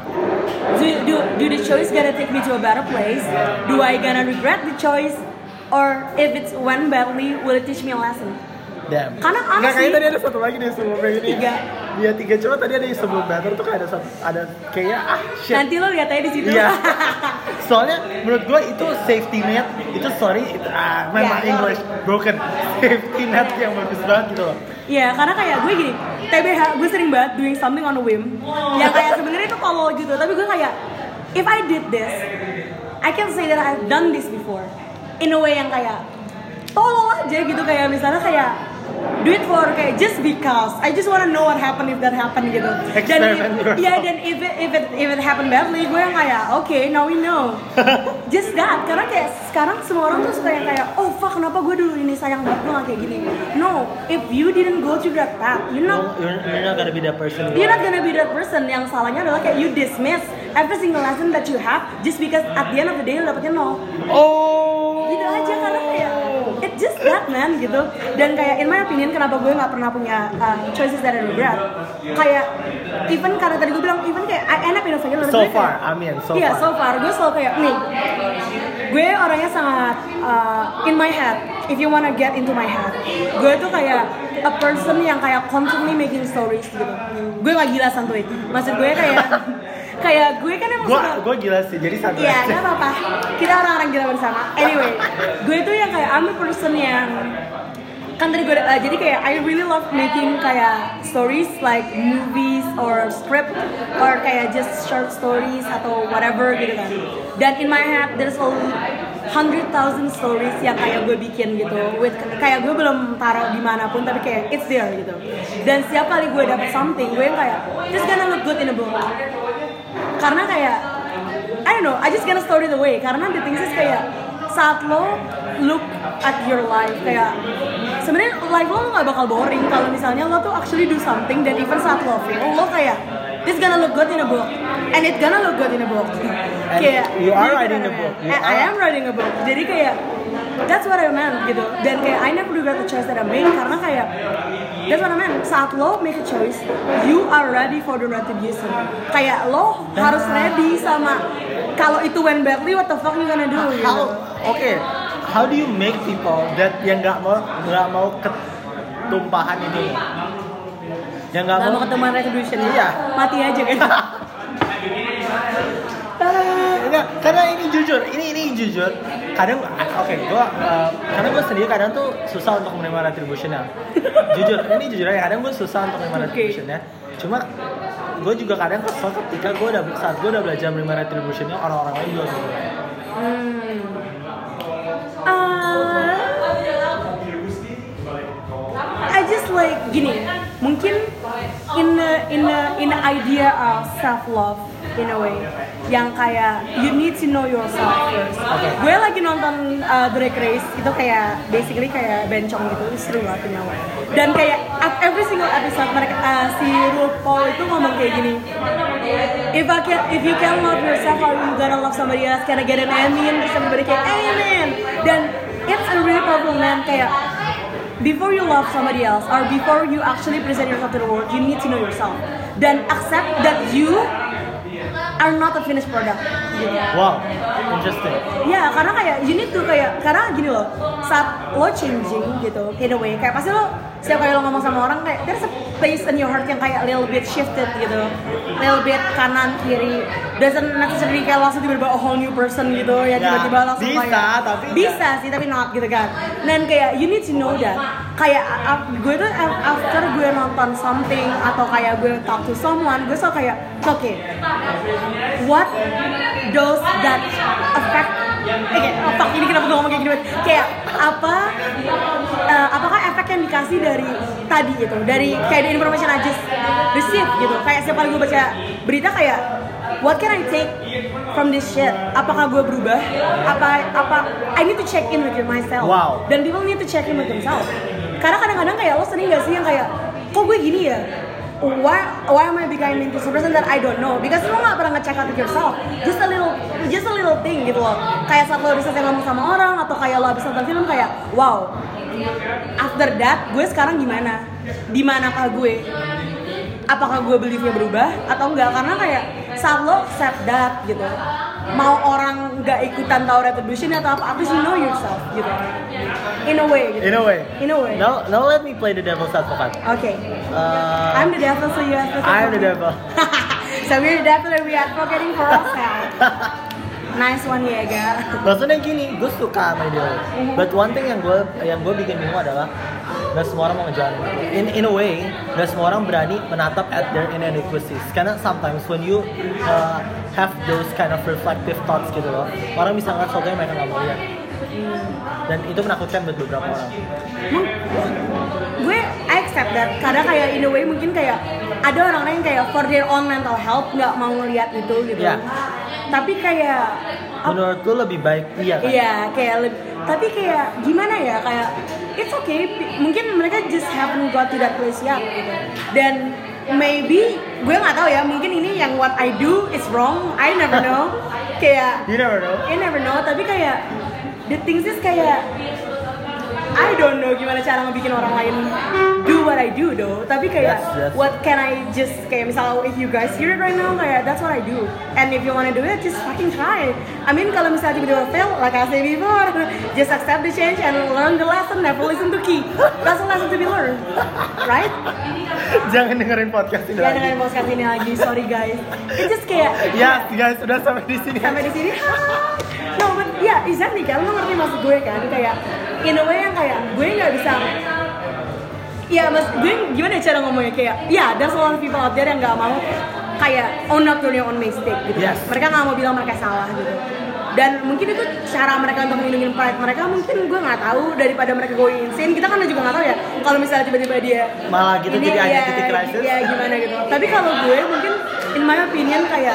Do, do do the choice gonna take me to a better place? Do I gonna regret the choice? Or if it's went badly, will it teach me a lesson? Damn. Karena honestly, nggak, kayaknya tadi ada satu lagi nih sebelum ini. Tiga. Iya tiga, cuma tadi ada yang sebelum better tuh kayak ada satu, ada kayaknya ah shit. Nanti lo lihat aja di situ. Iya. Soalnya menurut gue itu safety net, itu sorry, itu, ah, my, yeah, my English broken. Safety net yang bagus banget gitu loh. Iya, karena kayak gue gini, T B H gue sering banget doing something on a whim. Yang kayak sebenarnya itu tolol gitu, tapi gue kayak if I did this, I can say that I've done this before. In a way yang kayak tolol aja gitu, kayak misalnya kayak do it for kayak just because I just wanna know what happened if that happened gitu. Dan Experiment yourself. ya dan if it, if it if it happened badly, gue yang kayak oke okay, now we know. Just that, karena kayak sekarang semua orang tuh suka yang kayak oh fuck kenapa gue dulu ini sayang banget gue gak kayak gini. No, if you didn't go through that path, you're not No, you're, you're not gonna be that person. you're not gonna be that person. Yang salahnya adalah kayak you dismiss every single lesson that you have just because at the end of the day lu dapetnya nol. Oh. Gitu aja karena kayak it's just that man gitu. Dan kayak in my opinion kenapa gue nggak pernah punya uh, choices that I regret. Kayak even karena tadi gue bilang even kayak I end up in a failure. So gue far, kayak, I mean, so iya, far. so far gue selalu kayak nih. Gue orangnya sangat uh, in my head. If you wanna get into my head, gue tuh kayak a person yang kayak constantly making stories gitu. Gue gak gila santuy. Maksud gue kayak kayak gue kan emang Gue suka- gue gila sih, jadi santai. Iya, aja. nggak apa-apa. Kita orang-orang gila bersama. Anyway, gue tuh yang kayak I'm a person yang kan tadi gue uh, jadi kayak I really love making kayak stories like movies or script or kayak just short stories atau whatever gitu kan. Dan in my head there's a hundred thousand stories yang kayak gue bikin gitu. With kayak gue belum taruh dimanapun tapi kayak it's there gitu. Dan setiap kali gue dapet something gue yang kayak this gonna look good in a book. Karena kayak I don't know, I just gonna story the way. Karena the things is kayak saat lo look at your life kayak sebenarnya life lo nggak bakal boring kalau misalnya lo tuh actually do something dan even saat lo fail lo kayak this gonna look good in a book and it gonna look good in a book. And Kayak you are jadi writing kayak- a book. You I, I are- am writing a book. Jadi kayak that's what I meant gitu. Dan kayak I never regret the choice that I made karena kayak that's what I meant. Saat lo make a choice, you are ready for the retribution. Kayak lo harus ready sama kalau itu went badly, what the fuck you gonna do? Gitu. How? Oke. How do you make people that yang nggak mau nggak mau ketumpahan ini? Yang nggak Gak mau mau ketemuan retribution. Iya. Mati aja kan. Enggak, karena ini jujur, ini ini jujur. Kadang, oke, gua uh, karena gue sendiri kadang tuh susah untuk menerima retributionnya. Jujur, ini jujur aja. Kadang gue susah untuk menerima Oke. retributionnya. Cuma gue juga kadang kesel ketika gue udah saat gue udah belajar menerima retributionnya orang-orang lain juga gitu. Hmm. Uh, I just like gini. Mungkin in the in the in the idea of self love in a way yang kayak you need to know yourself first. Okay. Gue lagi nonton uh, Drag Race itu kayak basically kayak bencong gitu, seru banget you know. Dan kayak at every single episode mereka uh, si RuPaul itu ngomong kayak gini. If I can, if you can love yourself, how you gonna love somebody else? Can I get an amen? Terus everybody kayak amen. Dan it's a real problem man kayak before you love somebody else or before you actually present yourself to the world, you need to know yourself dan accept that you are not a finished product. Gitu. Wow, interesting. Ya, karena kayak you need to kayak karena gini loh, saat lo changing gitu in a way kayak pasti lo setiap kali lo ngomong sama orang kayak there's a place in your heart yang kayak little bit shifted gitu, little bit kanan kiri, doesn't necessarily kayak langsung tiba-tiba a whole new person gitu ya, Ya, tiba-tiba langsung bisa, kayak tapi bisa sih tapi not gitu kan. Dan kayak you need to know that kayak uh, gue tuh after gue nonton something atau kayak gue talk to someone gue selalu kayak oke okay, what does that affect eh kayak oh, fuck ini kenapa gue ngomong kayak gini kayak apa uh, apakah efek yang dikasih dari tadi gitu dari kayak the information I just receive gitu kayak setiap kali gue baca berita kayak what can I take from this shit? Apakah gue berubah? Apa apa I need to check in with myself. Wow. Dan people need to check in with themselves. Karena kadang-kadang kayak lo sering gak sih yang kayak kok gue gini ya? Why why am I becoming this person that I don't know? Because lo gak pernah nge-check out with yourself. Just a little just a little thing gitu loh. Kayak saat lo bisa ngomong sama orang atau kayak lo habis nonton film kayak wow. After that gue sekarang gimana? Di manakah gue? Apakah gue beliefnya berubah atau enggak? Karena kayak saat lo accept that gitu, mau orang nggak ikutan tahu retribution atau apa, at least you know yourself gitu. In a way gitu. In a way. In a way. Now, now let me play the devil's advocate. Okay. Uh, I'm the devil, so you have to. I'm the devil. So we're the devil and we are advocating for ourselves. Nice one ya, ga. Maksudnya gini, gue suka sama ide lo. But one thing yang gue yang gue bikin bingung adalah gak semua orang mau ngejalan. In in a way, gak semua orang berani menatap at their inadequacies. Karena sometimes when you uh, have those kind of reflective thoughts gitu loh, orang bisa ngeliat sesuatu yang mereka nggak mau lihat. dan itu menakutkan buat beberapa orang. Mung- gue I accept that. Kadang kayak in a way mungkin kayak ada orang-orang yang kayak for their own mental health nggak mau ngeliat itu gitu. Iya. Tapi kayak Menurut gue lebih baik iya kan? Iya, kayak lebih, tapi kayak gimana ya, kayak it's okay, mungkin mereka just haven't got to that place yet gitu. Dan maybe gue nggak tahu ya, mungkin ini yang what I do is wrong, I never know. Kayak You never know. I never know, tapi kayak the things is kayak I don't know gimana cara ngebikin orang lain do what I do though. Tapi kayak Yes, yes. what can I just kayak misalnya if you guys hear it right now kayak that's what I do. And if you wanna do it, just fucking try. I mean kalau misalnya tiba-tiba fail, like I said before, just accept the change and learn the lesson. Never listen to Key. That's a lesson to be learned, right? Jangan dengerin podcast ini Jangan lagi. dengerin podcast ini lagi, sorry guys. It's just kayak Ya, guys, sudah sampai di sini. sampai di sini. No, but yeah, exactly kan, lo ngerti maksud gue kan, kayak in a way yang kayak gue nggak bisa. Ya, mas, gue gimana cara ngomongnya kayak, ya, yeah, there's a lot of people out there yang nggak mau kayak own up to their own mistake gitu. Yes. Mereka nggak mau bilang mereka salah gitu. Dan mungkin itu cara mereka untuk melindungi pride mereka, mungkin gue nggak tahu, daripada mereka going insane. Kita kan juga nggak tahu ya kalau misalnya tiba-tiba dia Malah gitu ini, jadi ya, identity crisis. ya gimana gitu. Tapi kalau gue mungkin in my opinion kayak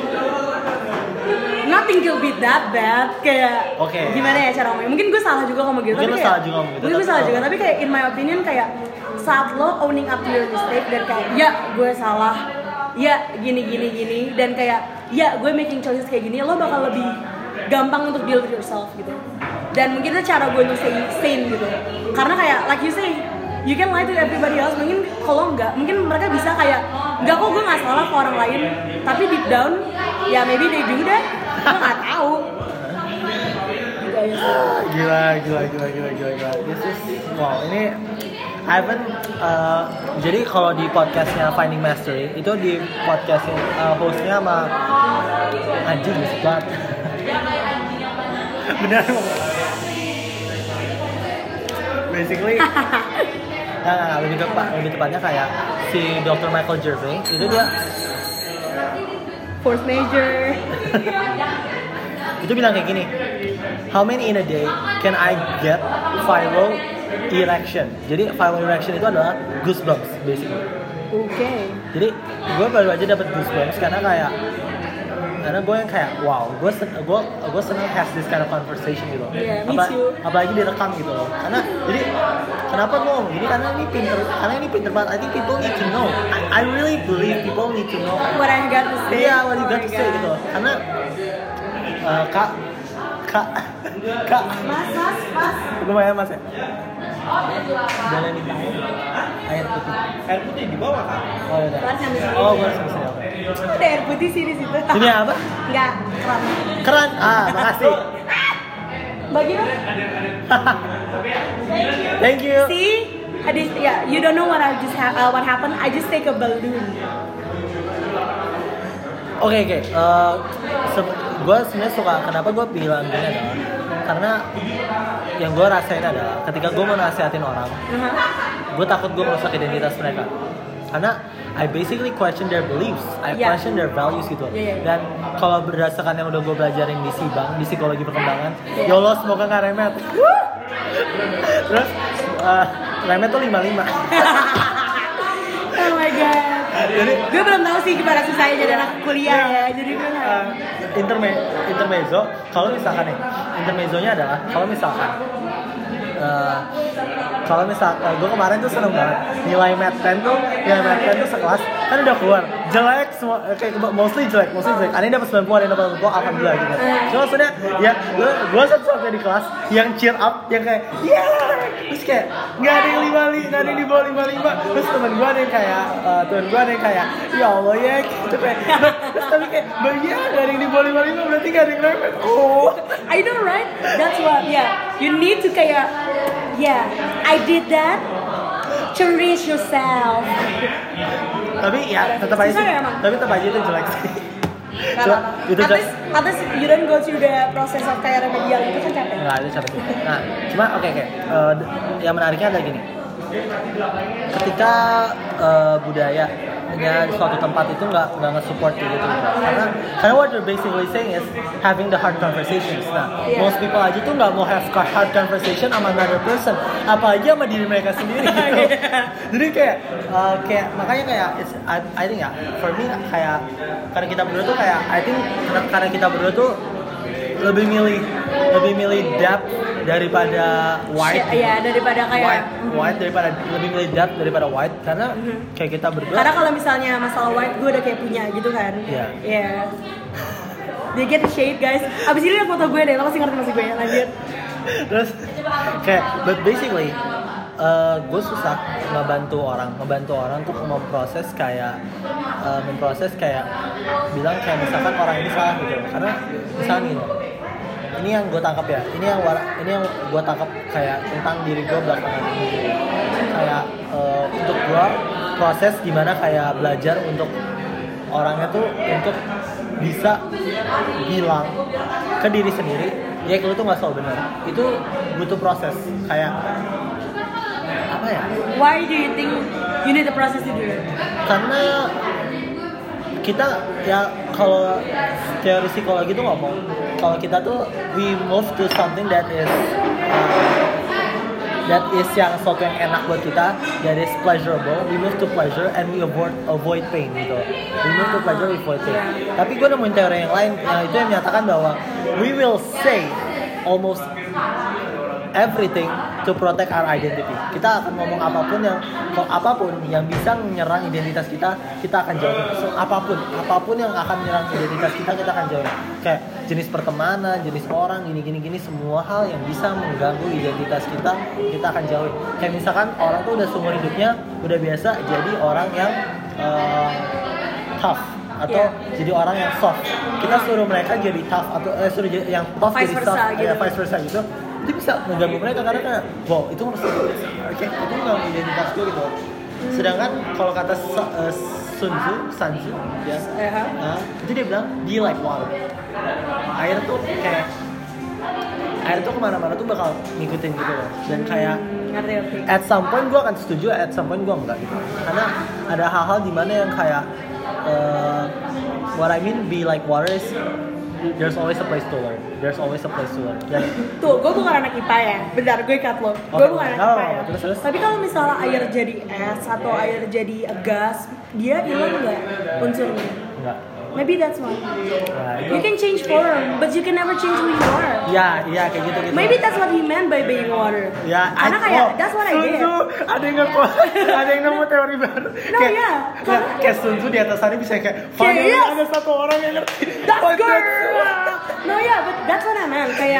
nothing will be that bad, kayak Oke. gimana ya cara ngomongnya, mungkin gue salah juga ngomong gitu. Mungkin tapi lo kayak- salah juga ngomong gitu, mungkin gue tapi- salah juga, tapi kayak in my opinion kayak saat lo owning up to your mistake dan kayak ya gue salah, ya gini gini gini, dan kayak ya gue making choices kayak gini, lo bakal lebih gampang untuk deal with yourself gitu. Dan mungkin itu cara gue untuk stay sane gitu, karena kayak like you say, you can lie to everybody else. Mungkin kalau enggak, mungkin mereka bisa kayak enggak kok gue nggak salah ke orang lain, tapi deep down ya maybe they do that, gue nggak tahu. Gitu aja sih. Gila, gila, gila, gila, gila, gila. This is wow. Ini I haven't. Uh, jadi kalau di podcastnya Finding Mastery itu di podcastnya uh, hostnya sama anjing berisik banget. Benar. Basically. Nah, nah, nah, lebih tepat, lebih tepatnya kayak si dokter Michael Gervais itu dia Force major. itu bilang kayak gini, how many in a day can I get viral erection? Jadi viral erection itu adalah goosebumps basically. Oke. Okay. Jadi gue baru aja dapat goosebumps karena kayak karena gue yang kayak wow, gue sen- gue gue senang has this kind of conversation gitu. Yeah, me Apa- too. apalagi direkam gitu loh. Karena jadi kenapa gue ngomong gini, karena ini pinter, karena ini pinter banget. I think people need to know. I, I really believe people need to know. What I got to say. Iya, what you Oh got my to say God. gitu. Karena uh, kak kak kak Mas, mas, mas. lumayan mas ya. Boleh minta air putih. Air putih di bawah kan? Oh udah. Kelas yang di sini. Oh gue sama sini. Ada air putih sih di situ. Ini apa? Enggak, keram. Keran. Ah, makasih. Bagi dong. Thank you. See, I just, yeah, you don't know what I just ha- uh, what happened. I just take a balloon. Oke oke. Eh, se- gue sebenarnya suka. Kenapa gue bilang gini adalah karena yang gue rasain adalah ketika gue mau nasihatin orang, Uh-huh. gue takut gue merusak identitas mereka. Karena I basically question their beliefs, I Yeah. question their values gitu. Yeah, yeah, yeah. Dan kalau berdasarkan yang udah gue belajarin di Sibang, di psikologi perkembangan, Yeah. ya Allah semoga nggak remet. Terus eh, remet tuh lima lima. Oh my god. Jadi Gue belum tahu sih gimana susahnya jadi anak kuliah ya. Jadi gue nggak. uh, interme- intermezzo, kalau misalkan nih, intermezzonya adalah kalau misalkan uh, kalau misal uh, gue kemarin tuh seneng banget nilai Math sepuluh tuh nilai Math sepuluh tuh sekelas kan udah keluar jelek semua, kayak mostly jelek mostly jelek ada yang dapat sembilan puluh ada yang dapat delapan puluh, alhamdulillah gitu. Cuma maksudnya ya gue gue satu-satunya di kelas yang cheer up, yang kayak yeah, terus kayak nggak ada yang lima lima, nggak ada yang di bawah lima lima, terus teman gue ada yang kayak uh, teman gue ada yang kayak ya Allah ya gitu kayak terus tapi kayak ya nggak ada yang di bawah lima lima berarti nggak ada yang remet. Oh I know right? That's what. Yeah. You need to kayak. Yeah. I did that. Cherish yourself. tapi ya tetap aja Susah sih, ya, emang? tapi tetap aja itu jelek sih. Gak Cuma apa-apa. itu At jelek. least, at least you don't go through the process of kayak remedial itu kan capek. Nggak ada capek sih. Nah, cuma oke oke. Eh, d- yang menariknya adalah gini. Ketika eh, budaya ya suatu tempat itu nggak nggak nge-support kayak gitu karena karena what you're basically saying is having the hard conversations. Nah Yeah. most people aja tuh nggak mau have hard conversation sama another person, apalagi sama diri mereka sendiri gitu. Jadi kayak uh, kayak makanya kayak it's, I, I think ya for me kayak karena kita berdua tuh kayak I think karena, karena kita berdua tuh lebih milih lebih milih depth daripada wide. Iya, daripada kayak White, white daripada lebih milih depth daripada white karena Mhm. kayak kita berdua. Karena kalau misalnya masalah white gue udah kayak punya gitu kan. Iya. Iya. They get the shade guys. Abis ini liat foto gue deh, lo pasti ngerti maksud gue ya, lanjut. Terus kayak but basically uh, gue susah ngebantu orang, ngebantu orang tuh memproses kayak uh, memproses kayak bilang kayak misalkan orang ini salah gitu. Karena misalnya gini, ini yang gue tangkap ya, ini yang war- ini yang gue tangkap kayak tentang diri gue belakangan ini. Kayak uh, untuk gue proses gimana kayak belajar untuk orangnya tuh untuk bisa bilang ke diri sendiri ya kalau itu nggak selalu benar, itu butuh proses kayak apa ya, Why do you think you need the process to do it? karena kita ya kalau teori psikologi tuh ngomong kalau kita tuh we move to something that is uh, that is yang sesuatu yang enak buat kita, that is pleasurable, we move to pleasure and we avoid avoid pain gitu. We move to pleasure, we avoid pain. Tapi gue nemuin teori yang lain, yang itu yang menyatakan bahwa we will say almost everything to protect our identity. Kita akan ngomong apapun yang apapun yang bisa menyerang identitas kita, kita akan jauhi. So, apapun, apapun yang akan menyerang identitas kita, kita akan jauhi. Kayak jenis pertemanan, jenis orang, gini-gini gini semua hal yang bisa mengganggu identitas kita, kita akan jauhi. Kayak misalkan orang tuh udah seumur hidupnya udah biasa jadi orang yang uh, tough atau Yeah. jadi orang yang soft. Kita suruh mereka jadi tough atau eh, suruh jadi yang tough Vice jadi versa soft, gitu. ya vice versa gitu. Itu bisa mengganggu mereka karena kayak wow itu harus oke itu nggak identitas gue gitu. Sedangkan kalau kata Sa- uh, Sun Tzu, Sun Tzu ya, Aha. uh, itu dia bilang be like water. Air tuh kayak air tuh kemana-mana tuh bakal ngikutin gitu loh. Dan kayak Hmm, ngerti ngerti. at some point gue akan setuju, at some point gue enggak gitu. Karena ada hal-hal di mana yang kayak uh, what I mean be like water is there's always a place to learn. There's always a place to learn. Dan Tuh, gue bukan anak I P A ya. Bentar, gue cut lo. Gue Oke. bukan anak Oh, I P A ya. terus, terus. Tapi kalau misalnya air jadi es atau air jadi gas, dia hilang nggak unsurnya? enggak. Maybe that's why. Nah, itu You can change form, but you can never change who you are. ya, iya kayak gitu gitu. Maybe that's what he meant by being water. Ya, Karena I- kayak oh, that's what I Sun did. Tzu, ada yang nge ada yang nemu teori baru. No, kayak, yeah. kayak, kayak Sun Tzu di atas sana bisa kayak finally yes. ada satu orang yang ngerti. That's What girl. that's- No yeah, but that's what I meant. Kayak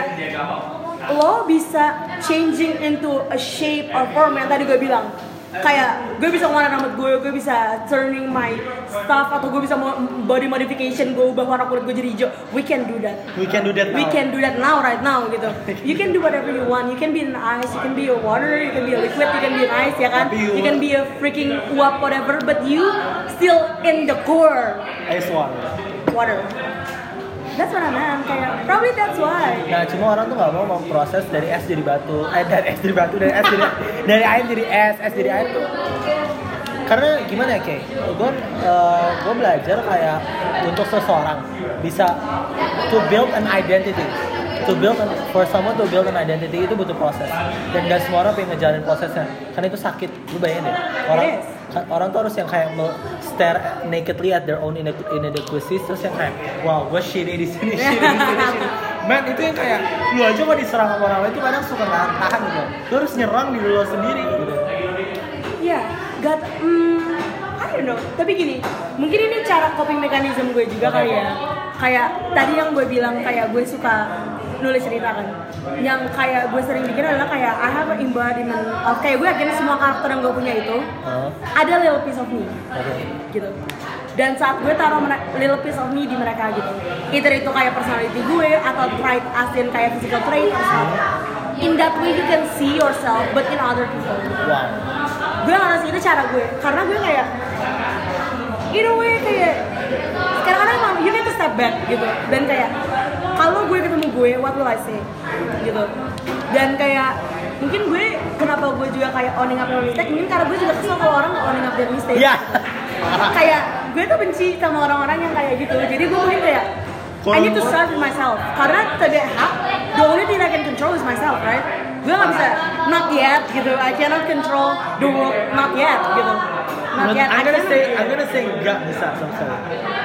lo bisa changing into a shape or form yang tadi gue bilang. Kayak gue bisa ngewarna rambut gue, gue bisa turning my stuff atau gue bisa mo- body modification, gue ubah warna kulit gue jadi hijau. We can do that. We can do that now. We can do that now, right now gitu. You can do whatever you want. You can be an ice, you can be a water, you can be a liquid, you can be an ice, ya kan? Tapi you- You can be a freaking uap whatever, but you still in the core Ice water. water. That's what I meant. Kayak probably that's why. Nah, cuma orang tuh nggak mau memproses dari es jadi batu, eh dari es jadi batu, dari es jadi dari air jadi es, es jadi air tuh. Karena gimana ya, kayak gue uh, gue belajar kayak untuk seseorang bisa to build an identity, to build an, for someone to build an identity itu butuh proses. Dan gak semua orang pengen ngejalanin prosesnya, karena itu sakit. Lu bayangin deh, orang It is. orang tuh harus yang kayak me- stare nakedly at their own ine- inadequacies, terus yang kayak wow gue shitty di sini, shitty di sini, shitty. Man itu yang kayak lu aja kalau diserang sama orang lain itu kadang suka nggak tahan gitu. Lu harus nyerang diri lu sendiri gitu. Iya, God, hmm, I don't know. Tapi gini, mungkin ini cara coping mechanism gue juga kali ya. Kayak tadi yang gue bilang kayak gue suka nulis cerita kan. Yang kayak gue sering bikin adalah kayak I have an embodiment of kayak gue yakin semua karakter yang gue punya itu Oh, ada little piece of me oke. gitu. Dan saat gue taruh mere- little piece of me di mereka gitu, either itu kayak personality gue atau trait asin kayak physical trait or something. In that way you can see yourself, but in other people. Wow. Gue ngerasa itu cara gue, karena gue kayak in a way kayak kadang-kadang emang you need to step back gitu. Dan kayak kalau gue ketemu gue, what will I say gitu. Dan kayak mungkin gue kenapa gue juga kayak owning up their mistake, mungkin karena gue juga kesel kalau orang owning up their mistake. Ya. kayak gue tuh benci sama orang-orang yang kayak gitu. Jadi gue mungkin kayak I need to start with myself. Karena tidak hak, the only thing I can control is myself, right? Gue gak bisa, not yet gitu. I cannot control the world, not yet gitu. Not yet. I'm gonna I say, cannot. I'm gonna say nggak bisa sama sekali.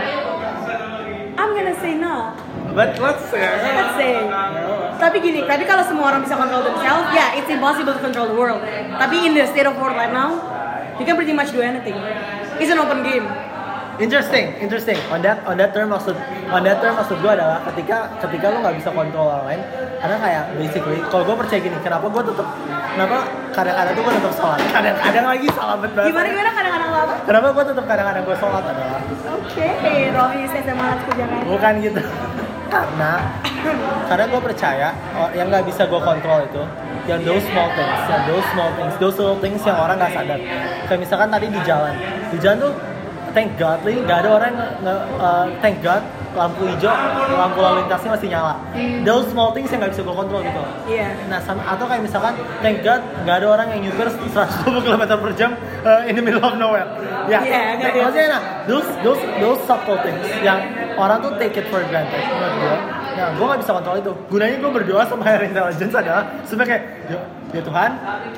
I'm gonna say no. But let's say. Let's say. Tapi gini, tapi kalau semua orang bisa control themselves, yeah, it's impossible to control the world. Tapi in the state of world right now, you can pretty much do anything. It's an open game. Interesting, interesting. On that, on that term maksud, on that term maksud gue adalah ketika, ketika lo nggak bisa kontrol orang lain, karena kayak basically, kalau gue percaya gini, kenapa gue tetap, kenapa kadang-kadang tuh gue tetap sholat, kadang-kadang lagi salah banget. Gimana gimana kadang-kadang lo apa? Kenapa gue tetap kadang-kadang gue sholat adalah? Oke, okay. Rohi saya semangat kerjaan. Bukan gitu. Karena, karena gue percaya oh, yang nggak bisa gue kontrol itu, yang those small things, yang those small things, those little things yang orang nggak sadar. Kayak misalkan tadi di jalan, di jalan tuh thank God, li, gak ada orang nge, uh, thank God lampu hijau, lampu lalu lintasnya masih nyala. Mm. Those small things yang gak bisa gue kontrol gitu. Iya. Yeah. Nah, sama, atau kayak misalkan thank God gak ada orang yang nyupir seratus dua puluh kilometer per jam uh, in the middle of nowhere. Ya, yeah. yeah, nah, maksudnya nah, those those those subtle things yang orang tuh take it for granted menurut gue. Nah, gue gak bisa kontrol itu. Gunanya gue berdoa sama higher intelligence adalah supaya kayak, ya, ya Tuhan,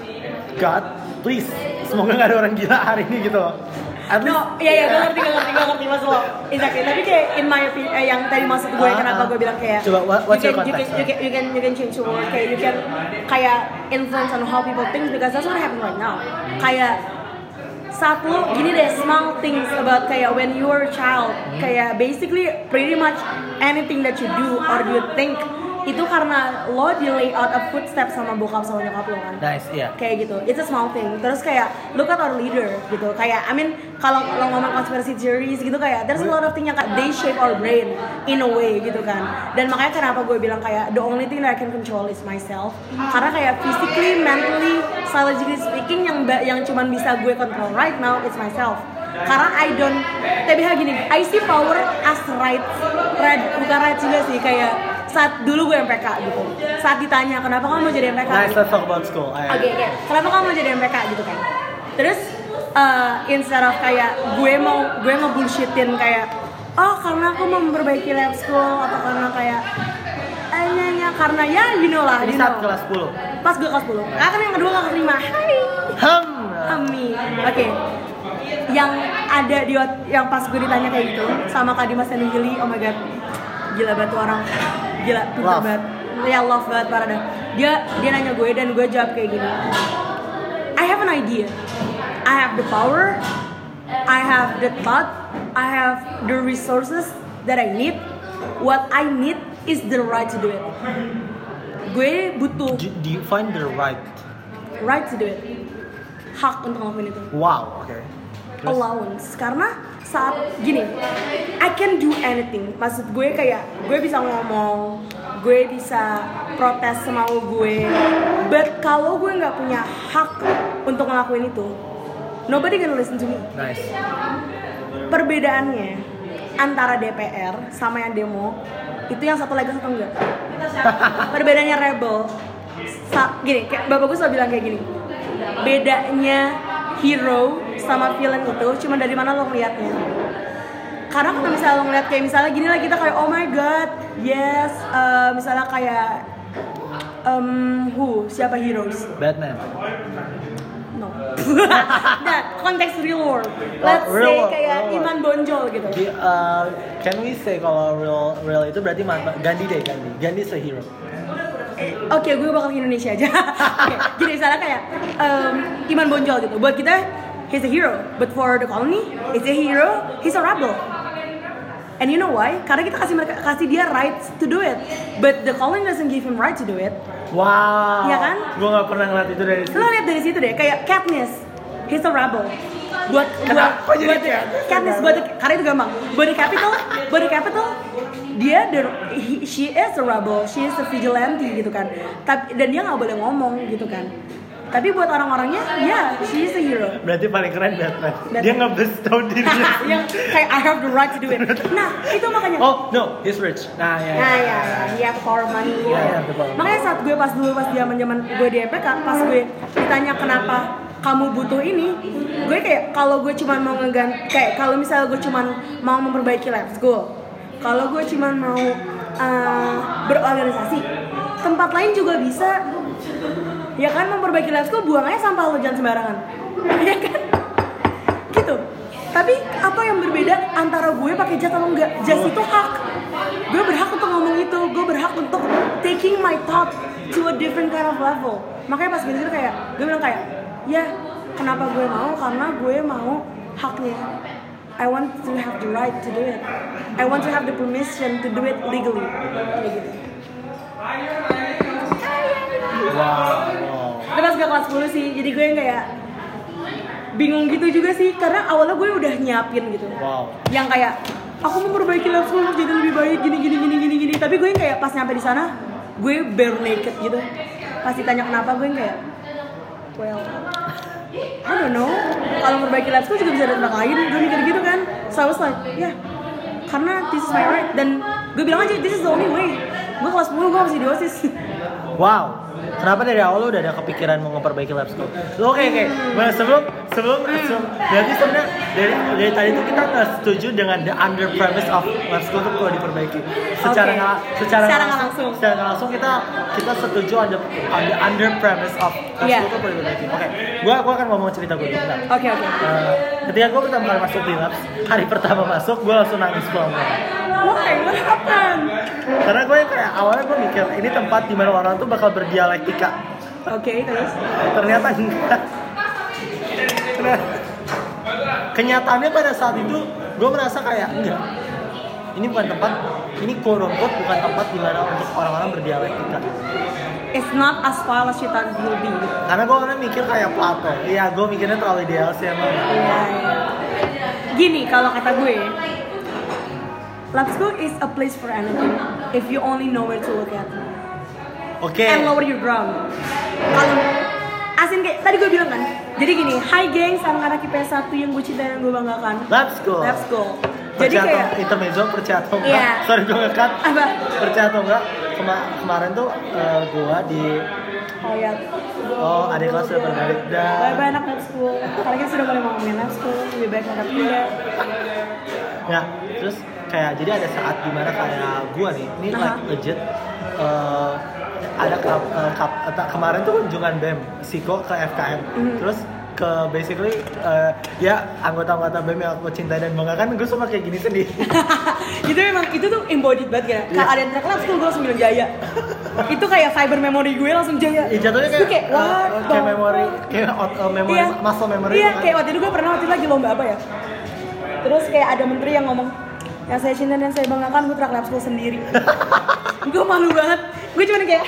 God, please, semoga gak ada orang gila hari ini gitu loh. No, iya iya, gue ngerti, gue ngerti, gue ngerti maksud lo. Exactly. Tapi kayak in my opinion, eh, yang tadi maksud gue, uh, kenapa gue bilang kayak coba, what, what's you your can, context? You can, you can, you can, you can change the world. Kayak you can kayak influence on how people think because that's what happening right now. Kayak saat lo gini deh, small things about kayak when you were a child, kayak basically pretty much anything that you do or you think itu karena lo di layout a footstep sama bokap sama nyokap lo kan. Nice, iya. Yeah. Kayak gitu, it's a small thing. Terus kayak look at our leader gitu. Kayak I mean kalau lo ngomong conspiracy theories gitu kayak there's a lot of things yang kayak they shape our brain in a way gitu kan. Dan makanya kenapa gue bilang kayak the only thing that I can control is myself. Karena kayak physically, mentally, psychologically speaking yang yang cuman bisa gue control right now is myself. Karena I don't, tapi gini, I see power as right, right bukan right juga sih kayak saat dulu gue M P K gitu, saat ditanya kenapa kamu mau jadi M P K? Nice, let's talk about school. Oke, okay, okay. Kenapa kamu mau jadi M P K gitu kan? Terus uh, instead of kayak gue mau gue mau bullshitin kayak, oh karena aku mau memperbaiki lab school atau karena kayak hanya karena ya you know lah. Di saat kelas sepuluh. Pas gue kelas sepuluh. Ah kan yang kedua gak keterima. Hai. Ham. Ami. Oke. Okay. Yang ada di yang pas gue ditanya kayak gitu sama Kak Dimas dan Gili, oh my god, gila banget tuh orang, gila pintar banget, ya love banget parah dah. Dia dia nanya gue dan gue jawab kayak gini, I have an idea, I have the power, I have the thought, I have the resources that I need. What I need is the right to do it. Gue butuh. Do, do you find the right? Right to do it. Hak untuk ngelakuin itu. Wow, oke. Okay. Allowance, karena saat gini, I can do anything. Maksud gue kayak gue bisa ngomong, gue bisa protes semau gue. But kalau gue nggak punya hak untuk ngelakuin itu, nobody gonna listen to me. Nice. Perbedaannya antara D P R sama yang demo itu yang satu lagi satu enggak. Perbedaannya rebel. Sa- gini, kayak bapak gue selalu bilang kayak gini. Bedanya hero sama villain itu cuma dari mana lo ngeliatnya. Karena kalau misalnya lo ngeliat kayak misalnya gini lah, kita kayak oh my god, yes, uh, misalnya kayak um, who, siapa heroes? Batman. No. Nah, konteks real world. Let's oh, real say world, kayak real Iman Bonjol gitu. Di, uh, can we say kalau real real itu berarti mana? Gandhi deh, Gandhi. Gandhi is a hero. Oke, okay, gue bakal ke Indonesia aja. Oke, okay, jadi misalnya kayak um, Iman Bonjol gitu. Buat kita, he's a hero. But for the colony, he's a hero. He's a rebel. And you know why? Karena kita kasih mereka kasih dia rights to do it. But the colony doesn't give him right to do it. Wow. Iya kan? Gue nggak pernah ngeliat itu dari situ. Lo lihat dari situ deh, kayak Katniss, he's a rebel. Buat Kenapa buat jadi buat Katniss? Katniss buat karena itu gampang. Buat the capital, buat the capital, dia the, he, she is a rebel, she is a vigilante gitu kan. Tapi dan dia nggak boleh ngomong gitu kan. Tapi buat orang-orangnya, ya, yeah, she is a hero. Berarti paling keren Batman. Batman. Dia nge-bestow dirinya. Yang kayak I have the right to do it. Nah, itu makanya. Oh, no, he's rich. Nah, ya. Nah, ya, ya, he have power money. Ya, Ya, ya, betul. Makanya saat gue pas dulu pas zaman-zaman gue di M P K, pas gue ditanya kenapa kamu butuh ini, gue kayak kalau gue cuma mau ngeganti, kayak kalau misalnya gue cuma mau memperbaiki lab school, kalau gue cuma mau uh, berorganisasi, tempat lain juga bisa, ya kan, memperbaiki lab school, buang aja sampah lo jangan sembarangan, ya kan, gitu. Tapi apa yang berbeda antara gue pakai jas atau enggak? Jas itu hak, gue berhak untuk ngomong itu, gue berhak untuk taking my thought to a different kind of level. Makanya pas gitu kayak, gue bilang kayak, ya kenapa gue mau? Karena gue mau haknya. I want to have the right to do it. I want to have the permission to do it legally. Kayak gitu. Wow. Tapi pas gue kelas sepuluh sih, jadi gue yang kayak bingung gitu juga sih, karena awalnya gue udah nyiapin gitu. Wow. Yang kayak aku mau memperbaiki lab school jadi lebih baik gini gini gini gini gini. Tapi gue yang kayak pas nyampe di sana, gue bare naked gitu. Pas ditanya kenapa, gue yang kayak, well, I don't know. Kalau memperbaiki lab school juga bisa ada tempat lain. Gue mikir gitu kan. So I was like, ya, yeah, karena this is my right. Dan gue bilang aja, this is the only way. Gue kelas sepuluh, gue masih di OSIS. Wow. Kenapa dari awal lo udah ada kepikiran mau memperbaiki lab school? Oke okay, oke. Okay. Sebelum sebelum sebelum berarti sebenarnya dari dari tadi itu kita nggak setuju dengan the under premise of lab school itu perlu diperbaiki. Secara okay. nggak secara, secara langsung, langsung. Secara nggak langsung kita kita setuju on the, on the under premise of lab yeah. school itu perlu diperbaiki. Oke. Okay. Gua gua akan ngomong cerita gue dulu. Oke okay, oke. Okay. Uh, ketika gue pertama kali masuk di labs, hari pertama masuk gue langsung nangis pulang. Why? What happened? Karena gue kayak awalnya gue mikir ini tempat di mana orang tuh bakal berdialektika. Oke, okay, terus? Ternyata enggak. Kenyataannya pada saat itu gue merasa kayak enggak. Ini bukan tempat, ini quote unquote bukan tempat di mana untuk orang-orang berdialektika. It's not as far as you thought it will be. Karena gue orangnya mikir kayak Plato. Iya, gue mikirnya terlalu ideal sih emang. Iya, iya. Gini kalau kata gue, lab school is a place for anything if you only know where to look at. Oke. Okay. And lower your ground. Kalau asin kayak tadi gue bilang kan. Jadi gini, hi gengs, anak-anak I P S satu yang gue cintai dan gue banggakan. Lab school. Lab school. Jadi Jadi kayak intermezzo percaya atau enggak? Yeah. Sorry gue ngekat. Apa? Percaya atau enggak? Kema- kemarin tuh uh, gue di oh ya. Oh, adik kelas sudah berbalik dan Bye-bye anak lab school. Karena kita sudah mulai ngomongin lab school, lebih baik anak pindah. Ya, terus kayak jadi ada saat dimana kayak gue nih, ini uh-huh. like legit uh, ada kap, uh, kap, uh, kemarin tuh kunjungan B E M Siko ke F K M, mm-hmm. terus ke basically uh, ya anggota-anggota B E M yang aku cintai dan banggakan, gue suka kayak gini sedih. Itu memang itu tuh embodied banget kan. Kalau ada yang track lab school gue langsung bilang Jaya. Itu kayak fiber memory gue langsung Jaya. Iya jatuhnya kayak kayak uh, what? kayak memori kayak uh, memori iya. muscle memory. Iya, kan? kayak waktu itu gue pernah waktu itu lagi lomba apa ya. Terus kayak ada menteri yang ngomong, yang saya cinta dan saya banggakan gue track lab school sendiri. Gue malu banget. Gue cuma kayak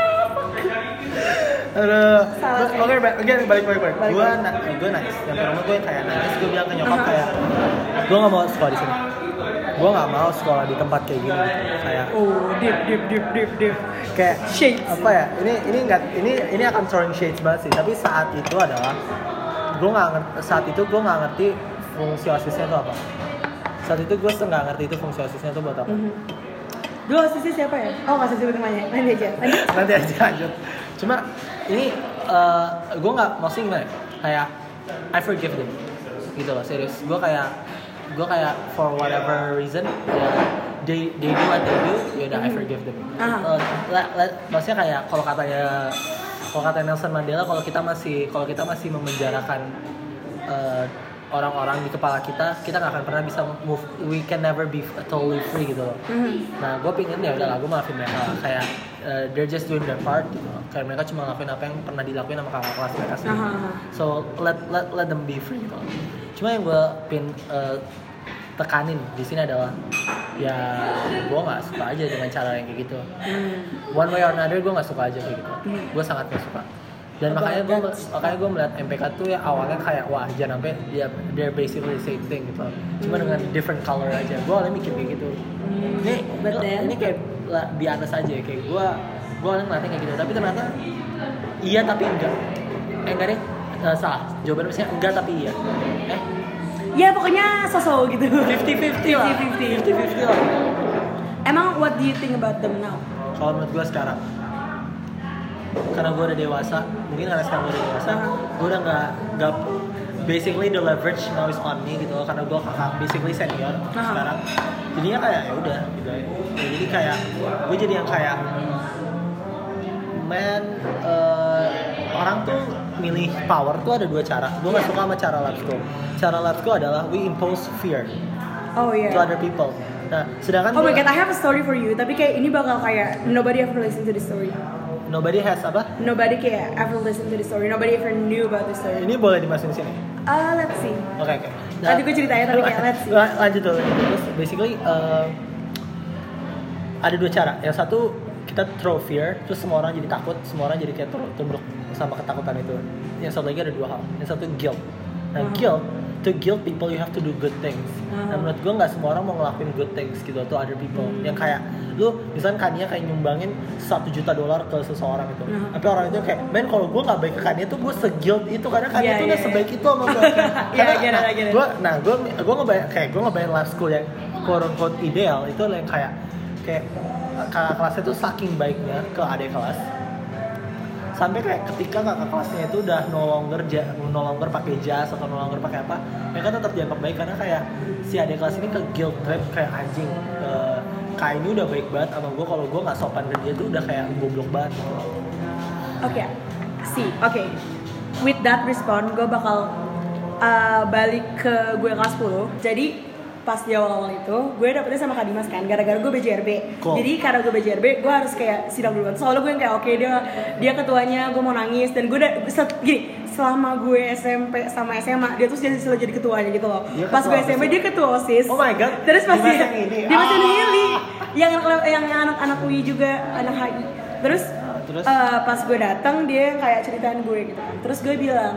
Aduh, oke, oke, balik, balik, balik. Gue, gue nangis. Yang pertama gue kayak nangis. Gue bilang ke nyokap kayak, gue nggak mau sekolah di sini. Gue nggak mau sekolah di tempat kayak gini. Kayak, oh, deep, deep, deep, deep, deep. Kayak shades. Apa ya? Ini, ini nggak, ini, ini akan throwing shades banget sih. Tapi saat itu adalah, gue nggak ngerti. Saat itu gue nggak ngerti fungsi osisnya itu apa. Saat itu gue nggak ngerti itu fungsi osisnya itu buat apa. Mm-hmm. Dulu osisnya siapa ya? Oh, nggak usah sebut namanya. Nanti aja. Lanjut. Nanti aja lanjut. Cuma ini uh, gue nggak maksudnya gimana? Kayak I forgive them, gitu loh, serius. Gue kayak gue kayak for whatever reason, ya they they do what they do, ya udah I forgive them. Uh, let, let, maksudnya kayak kalau katanya kalau kata Nelson Mandela, kalau kita masih kalau kita masih memenjarakan uh, orang-orang di kepala kita, kita nggak akan pernah bisa move. We can never be totally free gitu loh. Mm-hmm. Nah, gue pingin ya udah lah, gue maafin mereka. Kayak uh, they're just doing their part gitu loh. Kayak mereka cuma ngelakuin apa yang pernah dilakuin sama kakak kelas mereka sendiri. Uh-huh. So let let let them be free gitu loh. Cuma yang gue pin uh, tekanin di sini adalah ya gue nggak suka aja dengan cara yang kayak gitu. Mm. One way or another gue nggak suka aja kayak gitu. Mm. Gue sangat nggak suka. Dan oh, makanya gue makanya gue melihat M P K tuh ya awalnya kayak wah jangan sampai dia they're basically the same thing gitu, cuma dengan different color aja. Gue awalnya mikir kayak gitu. Hmm, ini betul. Ini kayak biasa saja kayak gue gue awalnya ngeliatnya kayak gitu, tapi ternyata iya tapi enggak. Eh enggak deh, uh, salah. Jawabannya misalnya enggak tapi iya. Eh? Ya pokoknya sosok gitu. fifty fifty lah. fifty fifty lah. Emang what do you think about them now? Kalau menurut gue sekarang karena gue udah dewasa, mungkin karena sekarang gue udah dewasa, Uh-huh. gue udah nggak nggak basically the leverage now is on me gitu loh, karena gue kakak basically senior Uh-huh. sekarang, jadinya kayak ya udah gitu ya. Jadi kayak gue jadi yang kayak man uh, orang tuh milih power tuh ada dua cara. Gue nggak Yeah. suka sama cara lab school. Cara lab school adalah we impose fear Oh to iya. other people. Nah, sedangkan Oh my gua- god, I have a story for you. Tapi kayak ini bakal kayak nobody ever listen to this story. nobody has apa? Nobody kayak ever listen to this story. Nobody ever knew about this story. Ini boleh dimasukin sini. Uh, let's see. Oke oke. Nanti gue ceritanya, tapi kayak let's see. La- Lanjut dulu. Terus basically uh, ada dua cara. Yang satu kita throw fear, terus semua orang jadi takut, semua orang jadi kayak tur- tunduk sama ketakutan itu. Yang satu lagi ada dua hal. Yang satu guilt. Nah Hmm. guilt, to guilt people you have to do good things. Hmm. Nah menurut gue nggak semua orang mau ngelakuin good things gitu to other people. Hmm. Yang kayak lu misalnya Kania kayak nyumbangin satu juta dolar ke seseorang itu. Hmm. Tapi orang itu kayak, men kalau gue nggak baik ke Kania tuh gue se-guilt itu karena Kania Yeah, tuh yeah, udah sebaik itu sama gue. Yeah, Karena I get it, nah, I get it. gue nah gue gue ngebayang kayak gue ngebayang life school yang quote unquote ideal itu yang kayak kayak kakak kelasnya tuh saking baiknya ke adik kelas sampai kayak ketika kakak kelasnya itu udah no longer ja, no longer pakai jas atau no longer pakai apa, mereka tetap dianggap baik karena kayak si adik kelas ini ke guilt trip kayak anjing. Uh, Kak ini udah baik banget sama gue, kalau gue nggak sopan ke dia tuh udah kayak goblok banget. Oke, see, oke. With that response, gue bakal uh, balik ke gue kelas sepuluh. Jadi pas di awal-awal itu, gue dapetnya sama Kak Dimas kan, gara-gara gue B J R B. Cool. Jadi karena gue B J R B, gue harus kayak sidang duluan. Soalnya gue yang kayak oke dia dia ketuanya, gue mau nangis dan gue udah set, gini. Selama gue S M P sama S M A, dia tuh jadi selalu jadi ketuanya gitu loh. Dia Pas ketua gue S M P OSIS. dia ketua OSIS. Oh my god. Terus pas Dimas dia yang ini. Dimas yang Ah. ini, yang yang anak-anak U I juga, anak H I. Terus Terus? Uh, pas gue datang dia kayak ceritain gue gitu kan. Terus gue bilang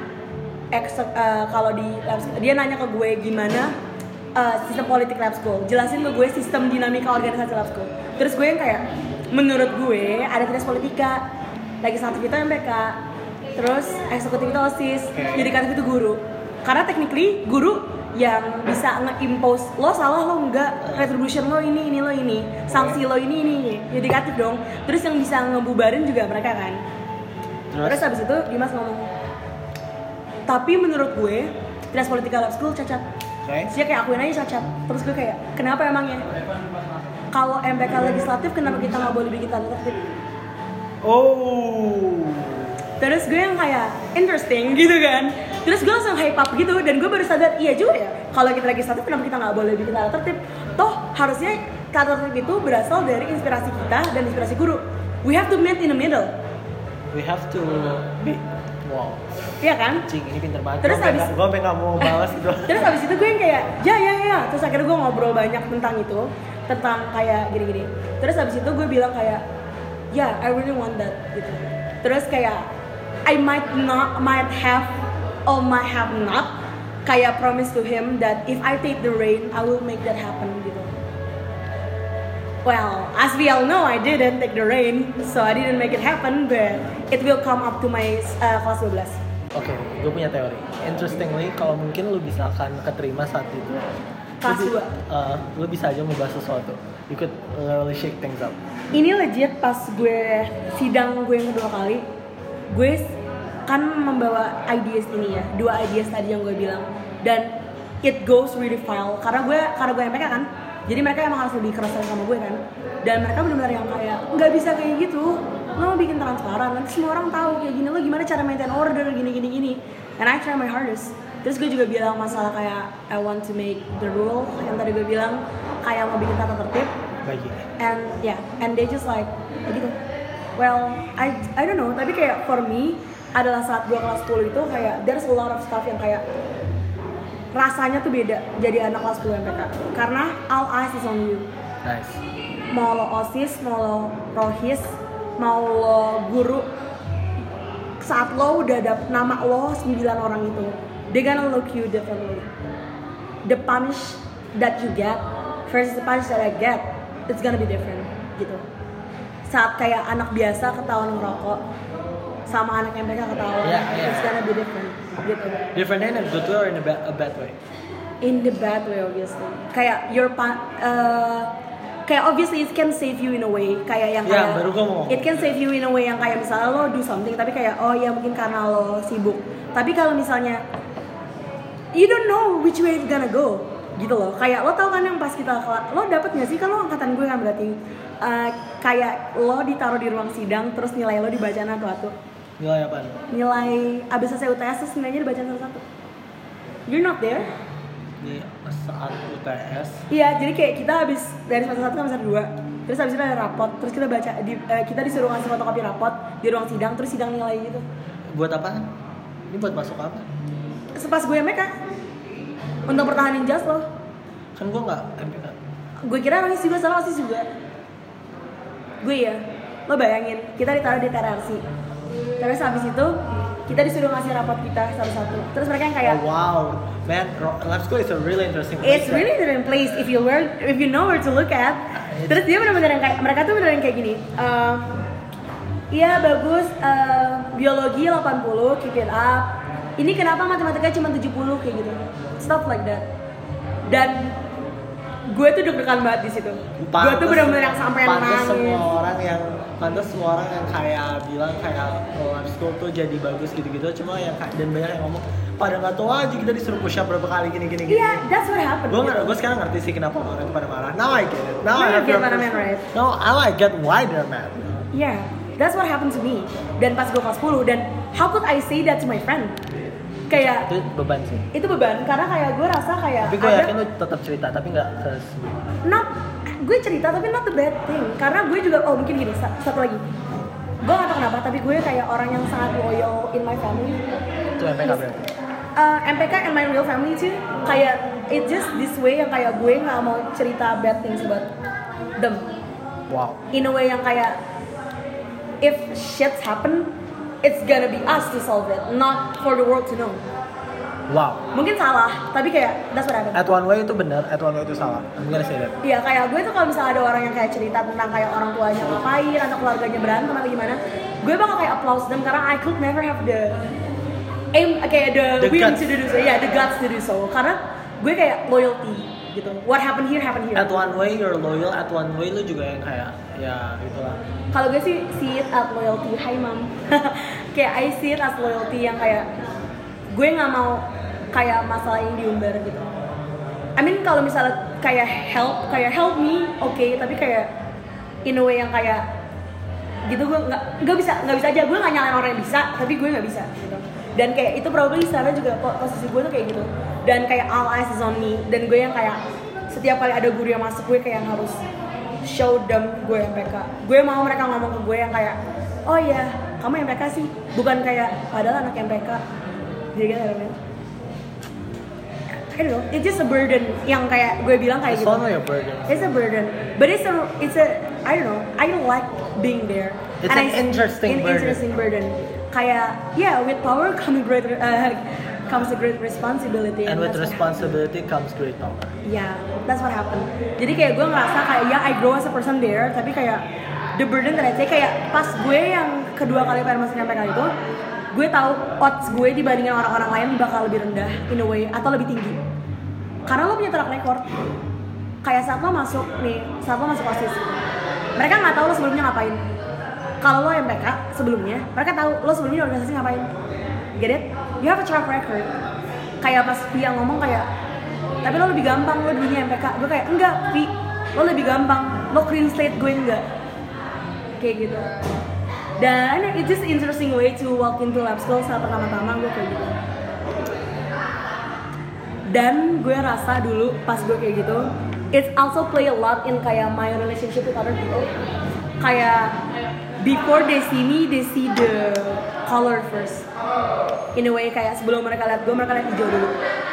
ex uh, kalau di lab school, dia nanya ke gue gimana uh, sistem politik lab school. Jelasin ke gue sistem dinamika organisasi lab school. Terus gue yang kayak menurut gue ada tes politika, legislatif itu M P K, terus eksekutif itu OSIS, Okay. yudikatif itu guru. Karena technically guru yang bisa nge-impose lo salah lo enggak, retribution lo ini ini lo ini, sanksi lo ini ini ini, yudikatif dong. Terus yang bisa ngebubarin juga mereka kan. Terus? Terus habis itu Dimas ngomong, tapi menurut gue tes politika lab school cacat. Oke. Dia kayak akuin aja cacat. Terus gue kayak kenapa emangnya? Kalau M P K legislatif kenapa kita nggak boleh bikin tanda tertib? Oh. Terus gue yang kayak interesting gitu kan. Terus gue langsung hype up gitu dan gue baru sadar iya juga ya. Kalau kita legislatif kenapa kita nggak boleh bikin tata tertib? Toh harusnya tata tertib itu berasal dari inspirasi kita dan inspirasi guru. We have to meet in the middle. We have to be wow. Iya kan? Cing, ini pinter banget. Terus Gue sampai habis- nggak- gue sampai nggak mau balas gitu. Terus abis itu gue yang kayak ya ya ya. Terus akhirnya gue ngobrol banyak tentang itu, tentang kayak gini-gini. Terus abis itu gue bilang kayak ya I really want that gitu. Terus kayak I might not, might have, or might have not kayak promise to him that if I take the reign, I will make that happen gitu. Well, as we all know, I didn't take the reign, so I didn't make it happen, but it will come up to my uh, kelas dua belas. Oke, gue punya teori. Interestingly, kalau mungkin lu bisa akan keterima saat itu, Kelas lu, bi- dua. uh, lu bisa aja membahas sesuatu. You could really shake things up. Ini legit pas gue sidang gue yang kedua kali, gue kan membawa ideas ini ya, dua ideas tadi yang gue bilang, dan it goes really file karena gue karena gue M P K kan, jadi mereka emang harus lebih keras sama gue kan, dan mereka benar-benar yang kayak nggak bisa kayak gitu, lo mau bikin transparan, nanti semua orang tahu kayak gini, lo gimana cara maintain order gini gini gini, and I try my hardest. Terus gue juga bilang masalah kayak I want to make the rule yang tadi gue bilang kayak mau bikin tata tertib. Bagi. And yeah, and they just like gitu. Well, I I don't know, tapi kayak for me adalah saat gue kelas sepuluh itu kayak there's a lot of stuff yang kayak rasanya tuh beda jadi anak kelas sepuluh M P K karena all eyes is on you. Nice. Mau lo OSIS, mau lo rohis, mau lo guru, saat lo udah dapet nama lo sembilan orang itu, they gonna look you differently. The punish that you get versus the punish that I get, it's gonna be different gitu. Saat kayak anak biasa ketahuan ngerokok sama anak M P K ketahuan, Yeah, yeah. it's gonna be different gitu. Different in a good way or in a, ba- a bad way? In the bad way obviously. Kayak your pa- uh, kayak obviously it can save you in a way kayak yang Ya, kayak baru gua mau. it can save you in a way yang kayak misalnya lo do something tapi kayak oh ya mungkin karena lo sibuk. Tapi kalau misalnya you don't know which way it's gonna go gitu loh. Kayak lo tau kan yang pas kita lo dapet nggak sih kan lo angkatan gue kan berarti uh, kayak lo ditaruh di ruang sidang terus nilai lo dibaca satu-satu. Nilai apa? Nilai abis selesai U T S terus nilainya dibaca satu-satu. You're not there. Di saat U T S. Iya, jadi kayak kita habis dari semester satu ke semester dua, terus habis itu ada rapot, terus kita baca, di, uh, kita disuruh ngasih fotokopi rapot di ruang sidang, terus sidang nilai gitu. Buat apa? Ini buat masuk apa? Sepas gue M P K untuk pertahanin jas lo. Kan gue nggak M P K. Gue kira orang juga salah osis juga. Gue ya, lo bayangin kita ditaruh di T R C, terus habis itu kita disuruh ngasih rapot kita satu-satu. Terus mereka yang kayak, Oh, wow, man, lab school is a really interesting place. it's really different place if you were if you know where to look at. Terus dia benar-benar yang kayak mereka tuh benar-benar kayak gini. Uh, Iya bagus, uh, biologi delapan puluh, keep it up. Ini kenapa matematika cuma tujuh puluh kayak gitu. Stuff like that. Dan gue tuh deg-degan banget di situ. Gue tuh benar-benar yang sampai pantes nangis. semua orang yang pantas semua orang yang kayak bilang kayak oh, lab school tuh jadi bagus gitu-gitu, cuma yang dan banyak yang ngomong pada nggak tahu aja kita disuruh push up berapa kali gini-gini. Iya, yeah, that's what happened. Gue nggak, gue sekarang ngerti sih kenapa orang itu pada marah. Now I get it. Now Now I you get what I mean, right? Now I get why they're mad. Yeah, that's what happened to me. Dan pas gue kelas sepuluh dan how could I say that to my friend? Kayak Itu beban sih. itu beban karena kayak gue rasa kayak Tapi gue ada- yakin lu tetap cerita, tapi nggak ke not gue cerita tapi not the bad thing karena gue juga oh mungkin gini sa- satu lagi gue gak tau kenapa tapi gue kayak orang yang sangat loyal in my family. itu M P K berarti. uh, M P K and my real family too kayak it just this way yang kayak gue nggak mau cerita bad things about them Wow. in a way yang kayak if shit happen it's gonna be us to solve it not for the world to know. Wow. Mungkin salah tapi kayak that's what happened. At one way itu benar, at one way itu salah. I'm gonna say that. Iya kayak gue tuh kalau misalnya ada orang yang kayak cerita tentang kayak orang tuanya ngapain atau keluarganya berantem atau gimana, gue bakal kayak applause them karena I could never have the aim kayak the, The will guts. to do so, yeah the guts to do so karena gue kayak loyalty gitu. What happened here happened here. At one way you're loyal, at one way lu juga yang kayak ya gitulah. Kalau gue sih see it as loyalty, hi mom. Kayak I see it as loyalty yang kayak gue nggak mau kayak masalah ini diumbar gitu. I mean kalau misalnya kayak help, kayak help me, oke, okay, tapi kayak in a way yang kayak gitu gue nggak nggak bisa nggak bisa aja gue nggak nyalain orang yang bisa, tapi gue nggak bisa gitu. Dan kayak itu probably sana juga posisi gue tuh kayak gitu. Dan kayak all eyes is on me. Dan gue yang kayak setiap kali ada guru yang masuk gue kayak yang harus show them gue M P K. Gue mau mereka ngomong ke gue yang kayak oh iya kamu M P K sih, bukan kayak padahal anak M P K. Jadi kan kan I don't know, it's just a burden yang kayak gue bilang kayak It's gitu. one way a burden. It's a burden, but it's a it's a I don't know. I don't like being there. It's And an I- interesting an burden. interesting burden. Kayak yeah, with power comes great uh, comes a great responsibility. And with that's what responsibility comes great power. happened. Yeah, that's what happened. Jadi kayak gue ngerasa kayak ya I grow as a person there, tapi kayak the burden that I take kayak pas gue yang kedua kali pengen masuk M P K itu, gue tahu odds gue dibandingin orang-orang lain bakal lebih rendah in a way atau lebih tinggi. Karena lo punya track record. Kayak saat lo masuk nih, saat lo masuk OSIS, mereka nggak tahu lo sebelumnya ngapain. Kalau lo M P K sebelumnya, mereka tahu lo sebelumnya di organisasi ngapain. Get it? You have a track record. Kayak pas Via ngomong kayak, tapi lo lebih gampang lo dulunya M P K. Gue kayak enggak, Vi, lo lebih gampang. Lo clean slate, gue enggak. Kayak gitu. Dan it's just interesting way to walk into lab school saat pertama-tama gue kayak gitu. Dan gue rasa dulu pas gue kayak gitu, it's also play a lot in kayak my relationship with other people. Kayak before they see me, they see the color first. In a way kayak sebelum mereka lihat gue, mereka lihat hijau dulu.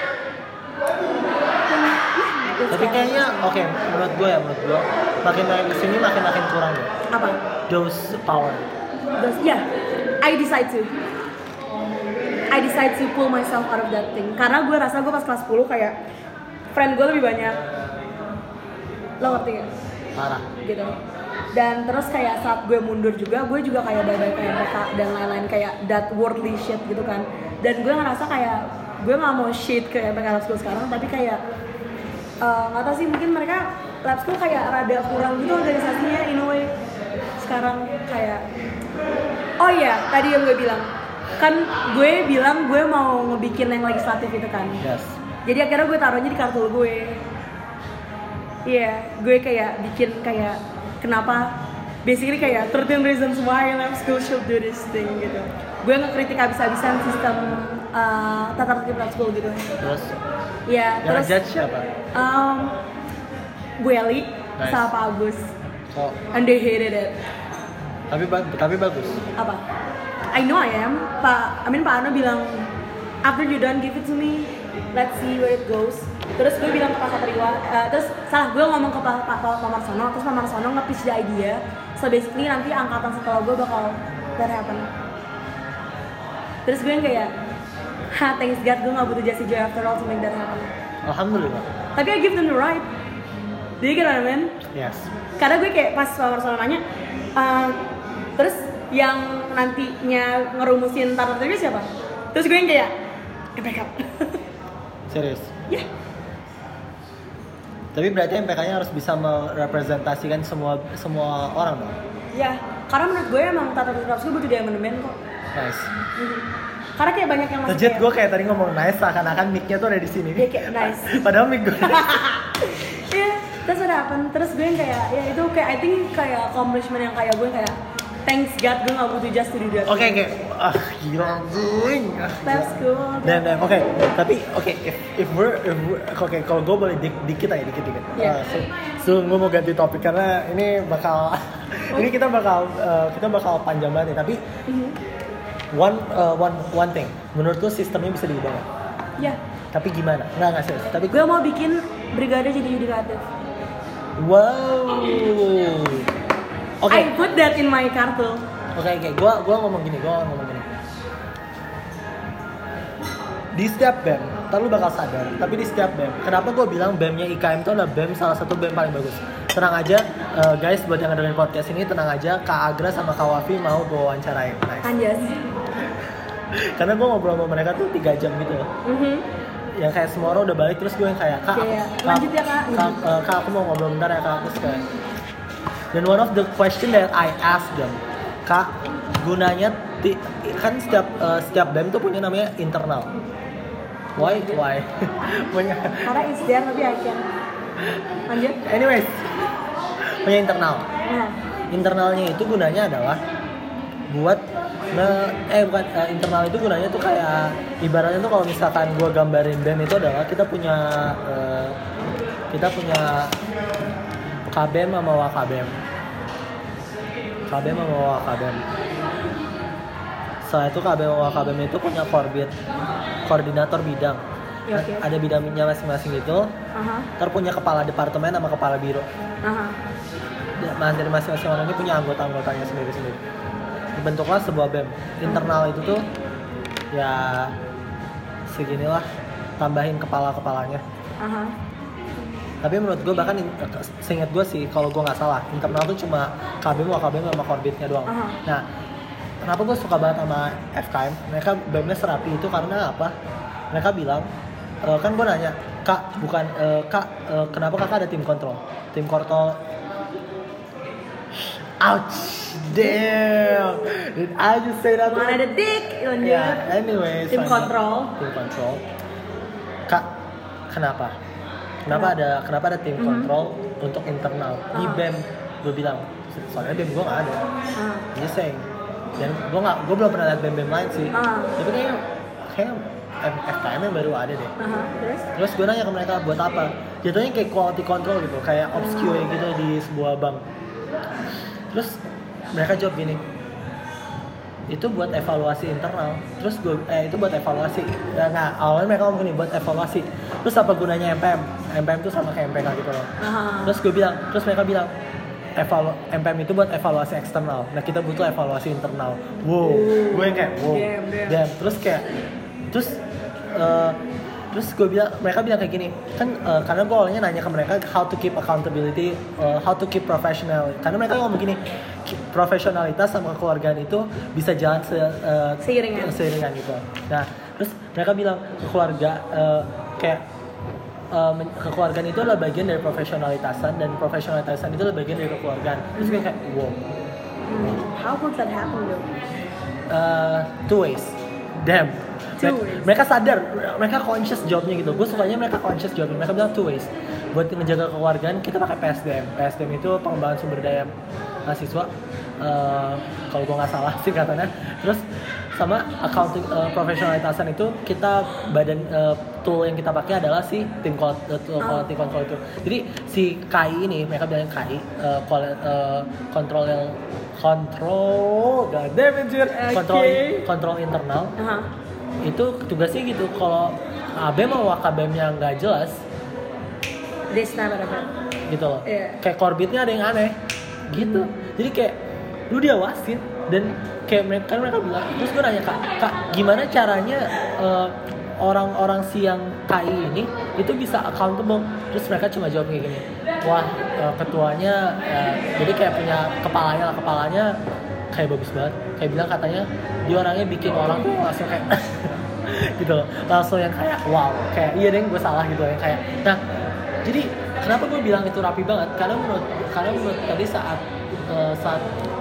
Tapi kayaknya oke, okay, menurut gue ya menurut gue makin makin kesini makin makin kurang ya. Apa? Those power. Those, yeah, I decide to. I decide to pull myself out of that thing. Karena gue rasa gue pas kelas sepuluh kayak friend gue lebih banyak. Lo ngerti gak? Parah. Gitu. Dan terus kayak saat gue mundur juga, gue juga kayak bye-bye kayak mereka dan lain-lain kayak that worldly shit gitu kan. Dan gue ngerasa kayak gue nggak mau shit ke M P K Lab School sekarang, tapi kayak nggak uh, tahu sih mungkin mereka lab school kayak rada kurang gitu organisasinya in a way. Sekarang kayak oh iya, tadi yang gue bilang kan gue bilang gue mau ngebikin yang legislatif itu kan. Yes. Jadi akhirnya gue taruhnya di kartu gue. Iya, yeah, gue kayak bikin kayak kenapa basically kayak thirteen reasons why lab school should do this thing gitu. Gue ngekritik abis-abisan sistem uh, tata tertib lab school gitu. Terus? Iya, yang terus judge siapa? Um, Bu Eli Nice. sama Pak Agus. Oh, And they hated it. tapi ba- tapi bagus. Apa? I know I am. Pak, I mean Pak Ano bilang after you done give it to me, let's see where it goes. Terus gue bilang ke Pak Satriwa, uh, terus salah gue ngomong ke Pak Pak Pak Marsono, terus Pak Marsono nge-pitch the idea. So basically nanti angkatan setelah gue bakal that happen. Terus gue yang kayak, ha thanks God gue gak butuh Jessie Joy after all to make that happen. Alhamdulillah. Tapi I give them the right. Do you get what I mean? Yes. Karena gue kayak pas Pak Marsono nanya, uh, terus yang nantinya ngerumusin tata tertibnya siapa? Terus gue yang kayak, M P K. Serius. Ya. Yeah. Tapi berarti M P K-nya harus bisa merepresentasikan semua semua orang dong. Ya, karena menurut gue emang tata tertib lab school butuh di amandemen kok. Nice. Mhm. Karena kayak banyak yang masih Legit gue kayak tadi ngomong nice seakan-akan mic-nya tuh ada di sini. Iya kayak nice. Padahal mic gue. Iya, terus udah apa? Terus gue yang kayak ya itu kayak I think kayak accomplishment yang kayak gue kayak thanks God gue gak butuh just to do that. Oke okay, oke. Okay. Ah gila anjing. Ah, lab school. Dan dan oke, okay. Tapi oke okay, if if we're, if we're oke okay, kalau gue boleh dik, dikit aja dikit dikit. Yeah. Uh, so, so gue mau ganti topik karena ini bakal ini kita bakal uh, kita bakal panjang banget nih. Tapi Mm-hmm. one uh, one one thing, menurut lu sistemnya bisa diubah nggak? Ya. Tapi gimana? Nggak nggak serius. Tapi Gue mau bikin brigade jadi yudikatif. wow. Oke. I put that in my kartu. Oke oke. Gua gua ngomong gini, gua ngomong gini. Di setiap B E M, ntar lu bakal sadar. Tapi di setiap B E M, kenapa gue bilang B E M-nya I K M itu adalah B E M salah satu B E M paling bagus. Tenang aja, uh, guys, buat yang dengerin podcast ini, tenang aja, Kak Agra sama Kak Wafi mau gue wawancarain. Nice. Anjas. Karena gue ngobrol sama mereka tuh tiga jam gitu loh. Mhm. Yang kayak semua orang udah balik, terus gue yang kayak, Kak, Kayak, Kak, lanjut ya, Kak. Kak, uh, Kak, aku mau ngobrol bentar ya Kak. Terus kayak, dan one of the question that I asked them, Kak, gunanya ti- kan setiap uh, setiap B E M tuh punya namanya internal. Why? Why? punya. Karena it's there tapi I can. Lanjut. Anyways, punya internal. Nah. Internalnya itu gunanya adalah buat nge- eh bukan uh, internal itu gunanya tuh kayak ibaratnya tuh kalau misalkan gua gambarin B E M itu adalah kita punya uh, kita punya K B M sama W K B M. K B M sama W K B M. Setelah itu K B M sama W K B M itu punya korbit koordinator bidang. Ya, oke. Ada bidangnya masing-masing gitu. Aha. Ntar punya kepala departemen sama kepala biro. Aha. Mas dari masing-masing orang ini punya anggota-anggotanya sendiri-sendiri. Dibentuklah sebuah B E M. Internal itu tuh ya seginilah, tambahin kepala-kepalanya. Aha. Tapi menurut gue bahkan seingat gue sih kalau gue nggak salah internal tuh cuma K B M, W K B M sama korbitnya doang. Aha. Nah, kenapa gue suka banget sama F K M? Mereka B E M-nya serapi itu karena apa? Mereka bilang e, kan gue nanya, Kak, bukan e, Kak, e, kenapa kakak ada tim kontrol? Tim kontrol. Ouch, damn. Did I just say that? Mana ada dik, lanjut. Ya, anyway. Tim kontrol. Tim kontrol. Kak, kenapa? Kenapa ada kenapa ada tim Mhm. kontrol untuk internal di Ah. B E M? Gue bilang, soalnya B E M gue nggak ada. Ah. Just saying. Dan gue nggak, gue belum pernah lihat B E M B E M lain sih. Ah. Tapi kayaknya kayak F K M yang baru ada deh. Aha. Terus? Terus gue nanya ke mereka buat apa? Jatuhnya kayak quality control gitu, kayak ops Q A gitu di sebuah bank. Terus mereka jawab gini, itu buat evaluasi internal. Terus gue, eh itu buat evaluasi. Nah, nah awalnya mereka ngomong gini, buat evaluasi. Terus apa gunanya M P M? M P M itu sama kayak M P K gitu loh. Aha. Terus gue bilang, terus mereka bilang, evalu M P M itu buat evaluasi eksternal. Nah kita butuh evaluasi internal. Wow, gue yang kayak wow. Damn, damn. Damn. Terus kayak, terus uh, terus gue bilang, mereka bilang kayak gini, kan uh, karena gue awalnya nanya ke mereka how to keep accountability, uh, how to keep professional. Karena mereka ngomong gini, profesionalitas sama kekeluargaan itu bisa jalan se, uh, Seiringan. seiringan gitu. Nah, terus mereka bilang ke keluarga uh, kayak uh, kekeluargaan itu adalah bagian dari profesionalitasan dan profesionalitasan itu adalah bagian dari kekeluargaan. Terus gue kayak wow. Hmm. How could that happen though? Uh, two ways. Damn. Two mereka, ways. mereka sadar, mereka conscious jawabnya gitu. Gue sukanya mereka conscious jawabnya. Mereka bilang two ways. Buat menjaga kekeluargaan kita pakai P S D M. P S D M itu pengembangan sumber daya mahasiswa. Uh, kalau gue nggak salah sih katanya. Terus sama accounting uh, profesionalitasan itu kita badan uh, tool yang kita pakai adalah si tim quality, uh, quality control itu. Jadi si K I ini mereka bilang K I uh, quality, uh, control yang kontrol, god damn it, okay. kontrol kontrol internal. Uh-huh. Itu tugasnya gitu. Kalau A B M sama K B M-nya nggak jelas, this time ada gitu loh. Yeah. Kayak korbitnya ada yang aneh, gitu. Hmm. Jadi kayak lu diawasin dan kayak mereka kan mereka bilang, terus gue nanya kak, kak gimana caranya uh, orang-orang si yang K I ini itu bisa accountable? Terus mereka cuma jawab kayak gini, wah uh, ketuanya uh, jadi kayak punya kepalanya lah kepalanya kayak bagus banget, kayak bilang katanya dia orangnya bikin orang tuh langsung kayak gitu loh, langsung yang kayak wow, kayak iya deh gue salah gitu ya kayak. Nah jadi kenapa gue bilang itu rapi banget? Karena menurut karena menurut tadi saat uh, saat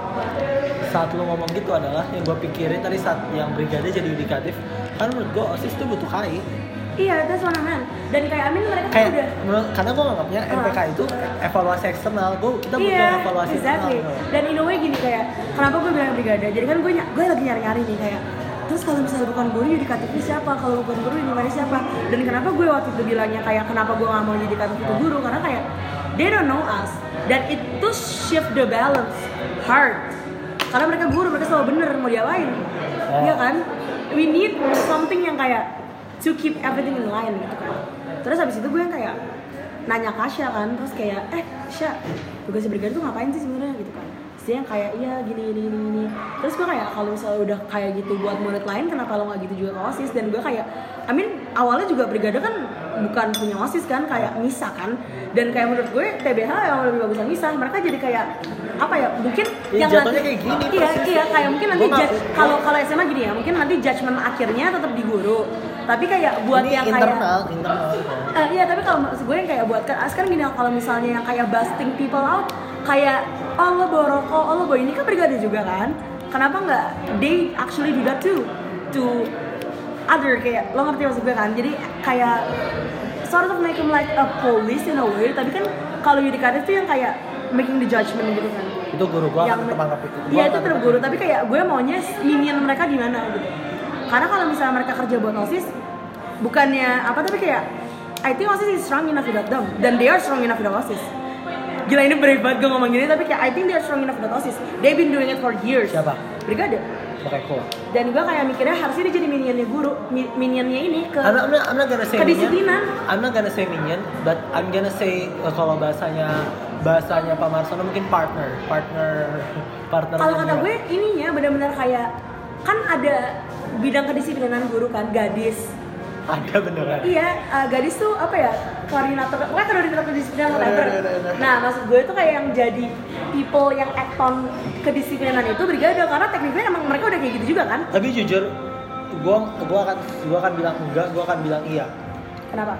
saat lu ngomong gitu adalah yang gue pikirin tadi saat yang brigade jadi yudikatif, kan menurut gue OSIS tuh butuh K I. Iya, that's what I meant. Dan kayak Amin mereka kayak, udah menurut, karena gue nganggapnya uh. M P K itu evaluasi eksternal, gue kita butuh iya, evaluasi exactly. eksternal. Dan in a way gini kayak, kenapa gue bilang brigade? Jadi kan gue gue lagi nyari-nyari nih kayak, terus kalau misalnya bukan guru yudikatifnya siapa? Kalau bukan guru yudikatifnya siapa? Dan kenapa gue waktu itu bilangnya kayak kenapa gue nggak mau yudikatif itu guru? Karena kayak they don't know us. Dan itu shift the balance hard. Karena mereka guru, mereka selalu bener mau diapain, oh. Iya kan? We need something yang kayak to keep everything in line gitu kan. Terus habis itu gue yang kayak nanya Kasya kan, terus kayak eh Kasya, tugas brigade tuh ngapain sih sebenarnya gitu kan? Terus dia yang kayak iya gini gini gini gini. Terus gue kayak kalau misalnya udah kayak gitu buat murid lain, kenapa lo nggak gitu juga ke OSIS? Dan gue kayak, I mean awalnya juga brigade kan bukan punya OSIS kan, kayak misah kan. Dan kayak menurut gue T B H yang lebih bagusan misah. Mereka jadi kayak apa ya? Mungkin ya, yang nanti kayak gini, iya iya kayak mungkin nanti judge, kalau kalau S M A gini ya, mungkin nanti judgement akhirnya tetap di guru. Tapi kayak buat ini yang internal, kayak internal. Uh, iya tapi kalau maksud gue yang kayak buat kan sekarang gini, kalau misalnya yang kayak busting people out, kayak oh lo bawa rokok, oh lo bawa ini kan brigade juga kan? Kenapa nggak they actually do that too to other, kayak lo ngerti maksud gue kan? Jadi kayak sort of make him like a police in a way, tapi kan kalau yudikatif tuh yang kayak making the judgment gitu kan. Itu guru gue akan tetap anggap itu. Iya itu tetap guru, tapi kayak gue maunya minion mereka gimana gitu. Karena kalau misalnya mereka kerja buat OSIS, bukannya apa tapi kayak I think OSIS is strong enough without them, dan they are strong enough without OSIS. Gila ini berat banget gue ngomong gini, tapi kayak I think they are strong enough without OSIS. They've been doing it for years. Siapa? Brigade. Oke, cool. Dan gue kayak mikirnya harusnya dia jadi minionnya guru, minionnya ini ke I'm not, I'm not, I'm not gonna say kedisiplinan. Minion. I'm not gonna say minion, but I'm gonna say uh, kalau bahasanya bahasanya Pak Marsono mungkin partner, partner, partner. Kalau kata gue ininya benar-benar kayak kan ada bidang kedisiplinan guru kan, gadis. Ada beneran. Iya, uh, gadis tuh apa ya? Koordinator, pokoknya koordinator kedisiplinan whatever. Nah, maksud gue tuh kayak yang jadi people yang act on kedisiplinan itu brigade, karena tekniknya emang mereka udah kayak gitu juga kan? Tapi jujur, gue gue akan gue akan bilang enggak, gue akan bilang iya. Kenapa?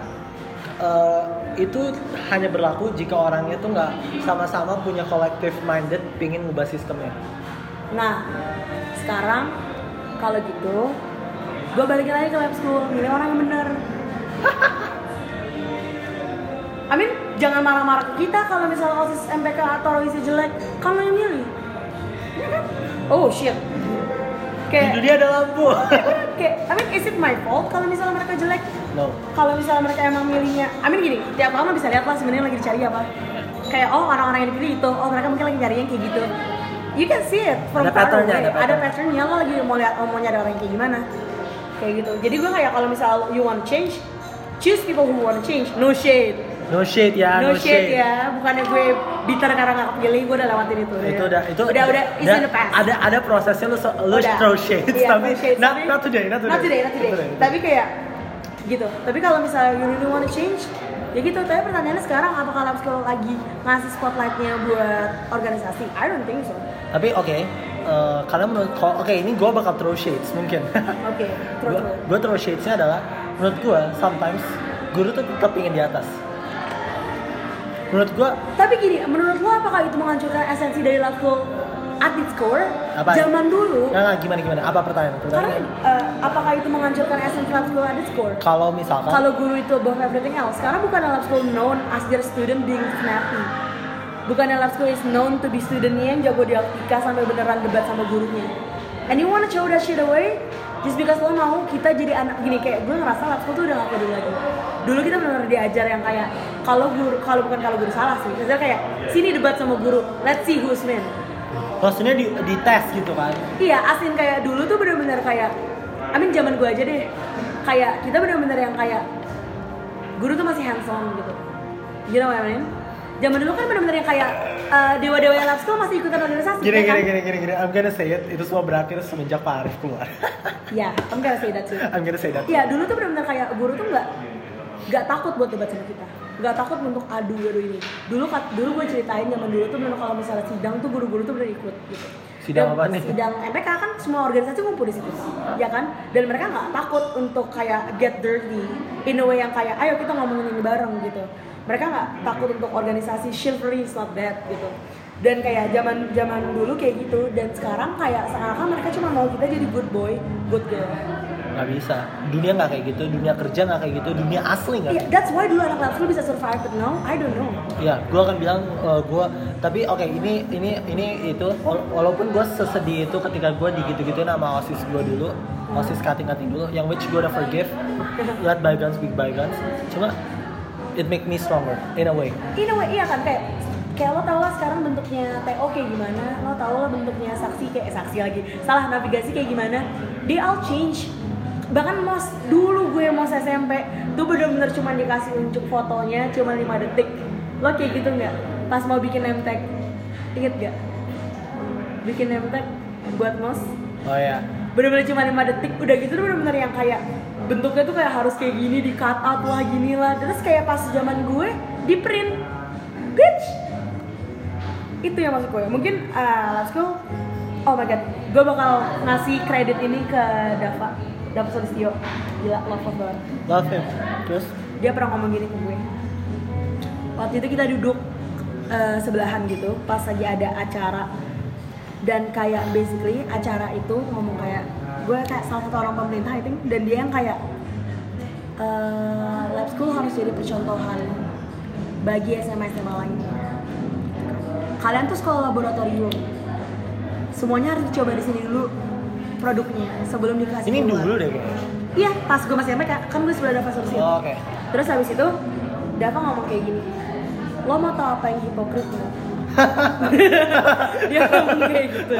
Uh, itu hanya berlaku jika orangnya tuh nggak sama-sama punya collective minded pingin ngubah sistemnya. Nah, sekarang kalau gitu gue balikin lagi ke lab school, milih orang yang bener. Amin, jangan marah-marah ke kita kalau misalnya OSIS M P K atau OSIS jelek, kamu yang milih. Iya kan? Oh shit. Kayak di dunia ada lampu. Kayak, I mean, is it my fault kalau misalnya mereka jelek? No. Kalau misalnya mereka emang milihnya, I mean gini, tiap lama bisa lihat lah sebenarnya lagi dicari apa. Kayak oh orang-orang yang dipilih itu, oh mereka mungkin lagi nyari yang kayak gitu. You can see it from ada far away. Ada, pattern. ada patternnya, lo lagi mau lihat, oh, mau nyari orang yang kayak gimana. Kayak gitu. Jadi gue kayak kalau misal you want change, choose people who want change. No shade. No shade ya. No, no shade, shade ya. Bukannya gue bitter karena nggak kepilih, gue udah lewatin itu. Itu ya. udah, itu udah, udah, it's in the past. Ada, ada prosesnya lu, lu udah. throw shade, yeah, tapi shades, not, tapi not today, not today, not today, not today. today. Tapi kayak gitu. Tapi kalau misalnya you really want to change, ya gitu. Tapi pertanyaannya sekarang apakah lab school lagi ngasih spotlightnya buat organisasi? I don't think so. Tapi oke. Okay. Uh, karena menurut oke okay, ini gue bakal throw shades mungkin. Oke, okay, throw Gue throw shadesnya adalah menurut gue sometimes guru tuh tetap ingin di atas. Menurut gue. Tapi gini, menurut lo apakah itu menghancurkan esensi dari lab school at its core? Apa? Zaman dulu. Nggak, nggak, gimana gimana? Apa pertanyaan? Karena uh, apakah itu menghancurkan esensi lab school at its core? Kalau misalkan. Kalau guru itu above everything else, karena bukan lab school known as their student being snappy. Bukan lab school is known to be studentnya yang jago dialektika sampai beneran debat sama gurunya. And you wanna throw that shit away? Just because lo mau kita jadi anak gini, kayak gue ngerasa lab school tuh udah gak kayak dulu lagi. Dulu kita benar-benar diajar yang kayak kalau guru, kalau bukan kalau guru salah sih, misalnya kayak sini debat sama guru, let's see who's man. Maksudnya di, di tes gitu kan? Iya, asin kayak dulu tuh benar-benar kayak, I mean zaman gue aja deh, kayak kita benar-benar yang kayak guru tuh masih hands on gitu. You know what I mean? Zaman dulu kan benar-benar yang kayak uh, dewa-dewa yang lab school masih ikutan organisasi. Gini, ya gini, kan? gini, gini, gini, I'm gonna say it, itu semua berakhir semenjak Pak Arif keluar. Ya, yeah, I'm gonna say that too. I'm gonna say that. Iya, dulu tuh benar-benar kayak guru tuh nggak nggak takut buat debat sama kita, nggak takut untuk adu adu ini. Dulu dulu gue ceritain zaman dulu tuh benar kalau misalnya sidang tuh guru-guru tuh benar ikut gitu. Sidang apa nih? Sidang M P K kan semua organisasi ngumpul di situ, ya kan? Dan mereka nggak takut untuk kayak get dirty in a way yang kayak ayo kita ngomongin ini bareng gitu. Mereka nggak takut untuk organisasi chivalry is not bad gitu. Dan kayak zaman zaman dulu kayak gitu, dan sekarang kayak seakan mereka cuma mau kita jadi good boy, good girl. Nggak bisa, dunia nggak kayak gitu, dunia kerja nggak kayak gitu, dunia asli nggak. Yeah, that's why dulu anak lab school bisa survive, but now I don't know. Iya, gue akan bilang uh, gue, tapi oke okay, ini ini ini itu, walaupun gue sesedih itu ketika gue digitu-gituin sama osis gue dulu, osis cutting-cutting dulu, yang which gue udah forgive, let bygones be bygones, cuma it make me stronger in a way. In a way, iya kan, kayak kayak lo tau lah sekarang bentuknya T O kayak gimana, lo tau lah bentuknya saksi kayak saksi lagi, salah navigasi kayak gimana, they all change. Bahkan mos dulu gue mos S M P tuh bener-bener cuma dikasih unjuk fotonya cuma lima detik. Lo kayak gitu nggak? Pas mau bikin name tag, inget gak? Bikin name tag buat mos? Oh ya. Bener-bener cuma lima detik, udah gitu tuh bener-bener yang kayak bentuknya tuh kayak harus kayak gini, di cut out lah gini lah. Terus kayak pas zaman gue di print, bitch. Itu yang maksud gue. Mungkin uh, lab school, oh my god, gue bakal ngasih kredit ini ke Dava, Dava Sulistyo. Gila, love banget. Love him. Terus? Dia pernah ngomong gini ke gue. Waktu itu kita duduk uh, sebelahan gitu, pas lagi ada acara. Dan kayak basically acara itu ngomong kayak, gue kayak salah satu orang pemerintah I think, dan dia yang kayak uh, lab school harus jadi percontohan bagi S M A S M A lain. Kalian tuh sekolah laboratorium, semuanya harus dicoba di sini dulu produknya sebelum dikasih ini keluar. dulu deh kayaknya. Iya, pas gue masih M P K, kan gue sebelah Dava Sulistyo. Oh, oke. Okay. Terus habis itu Dava ngomong kayak gini, lo mau tau apa yang hipokrit nggak? Dia ngomong kayak gitu.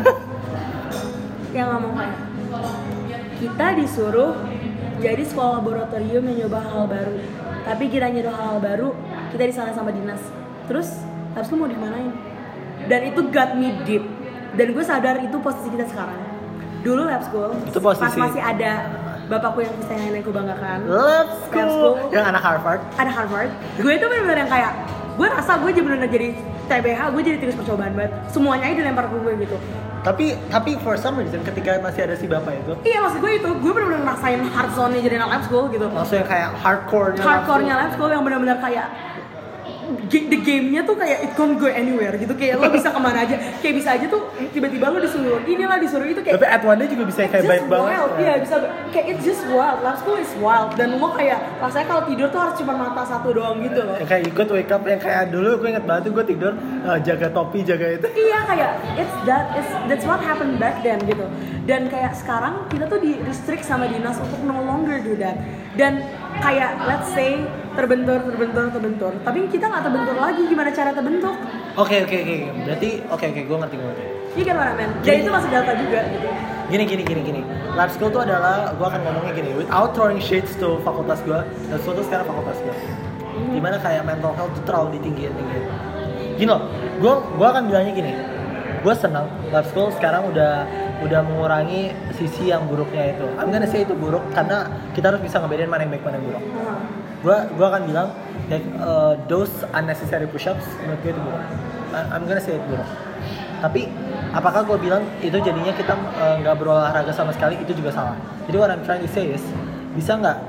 Yang ngomong kayak, kita disuruh jadi sekolah laboratorium yang nyoba hal baru, tapi kita nyoba hal baru kita disalahin sama dinas. Terus habis itu mau dimanain? Dan itu got me deep. Dan gue sadar itu posisi kita sekarang. Dulu lab school, itu posisi pas masih ada bapakku yang bisa yang aku banggakan, lab school, lab school yang anak Harvard, ada Harvard. Gue itu benar-benar yang kayak, gue rasa gue benar-benar jadi T B H, gue jadi tikus percobaan banget. Semuanya aja dilempar ke gue gitu. Tapi tapi for some reason ketika masih ada si bapak itu, iya maksud gue itu, gue benar-benar ngerasain hard zone-nya jadi anak lab school gitu. maksudnya kayak hardcore-nya Hardcore-nya lab school yang benar-benar kayak the game-nya tuh kayak it can't go anywhere gitu, kayak lo bisa kemana aja, kayak bisa aja tuh tiba-tiba lo disuruh inilah disuruh itu kayak. Tapi at one day juga bisa kayak baik banget. Wild, iya bisa kayak it's just wild. Lab school is wild dan lo kayak rasanya kalau tidur tuh harus cuma mata satu doang gitu loh. Yang kayak ikut wake up, yang kayak dulu gue inget banget tuh gue tidur uh, jaga topi jaga itu. Iya kayak it's that it's that's what happened back then gitu. Dan kayak sekarang kita tuh di restrict sama dinas untuk no longer do that. Dan kayak let's say terbentur terbentur terbentur tapi kita nggak terbentur lagi, gimana cara terbentuk? Oke oke oke berarti oke oke gue ngerti gue ngerti. Iya kan mana men? Dan itu masih data juga gitu. Gini gini gini gini. Lab school tuh adalah gue akan ngomongnya gini, without throwing shades to fakultas gue, lab school tuh sekarang fakultas gue. Hmm. Dimana kayak mental health tuh terlalu ditinggiin tinggiin. Gini loh, gue gue akan bilangnya gini. Gue senang lab school sekarang udah udah mengurangi sisi yang buruknya itu. I'm gonna say itu buruk karena kita harus bisa ngebedain mana yang baik mana yang buruk. Gue gue akan bilang like uh, those unnecessary push-ups menurut gue itu buruk. I'm gonna say itu buruk. Tapi apakah gue bilang itu jadinya kita nggak uh, berolahraga sama sekali, itu juga salah. Jadi what I'm trying to say is bisa nggak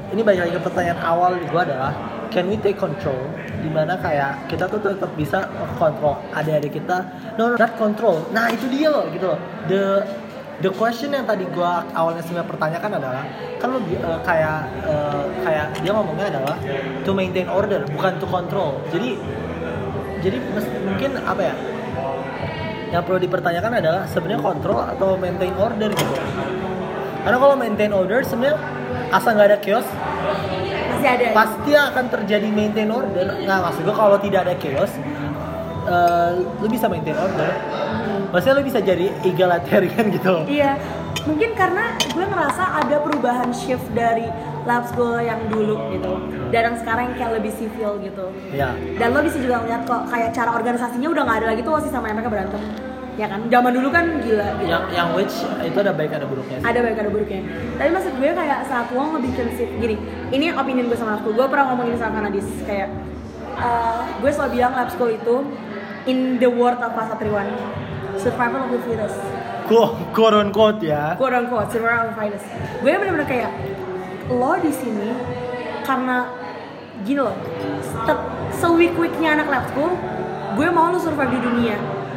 ini balik lagi ke pertanyaan awal gue adalah can we take control, dimana kayak kita tuh tetap bisa kontrol adik-adik kita, no, no not control, nah itu dia loh gitu loh. the the question yang tadi gue awalnya sebenarnya pertanyakan adalah kan lo uh, kayak uh, kayak dia ngomongnya adalah to maintain order bukan to control. Jadi jadi mungkin apa ya yang perlu dipertanyakan adalah sebenarnya kontrol atau maintain order gitu. Karena kalau maintain order sebenarnya asal nggak ada chaos masih ada. Pasti akan terjadi maintain order. Nggak, maksud gue kalau tidak ada chaos, uh, lu bisa maintain order. Maksudnya lu bisa jadi egalitarian gitu loh. Iya, mungkin karena gue ngerasa ada perubahan shift dari lab school yang dulu gitu, dan yang sekarang yang kayak lebih civil gitu. Iya. Dan lo bisa juga ngeliat kok kayak cara organisasinya udah nggak ada lagi tuh masih sama yang mereka berantem. Ya kan, zaman dulu kan gila gitu. Yang yang which itu ada baik ada buruknya sih. Ada baik ada buruknya. Tapi maksud gue kayak saat lo ngebikin shift gini, ini opinion gue sama lab school. Gue pernah ngomongin sama Kanadis kayak uh, gue selalu bilang lab school itu in the word of Pak Satriwan, survival of the fittest. Quote unquote ya. Quote unquote survival of the fittest. Gue bener-bener kayak lo di sini karena gini loh, seweak-weaknya anak lab school, gue mau lo survive di dunia.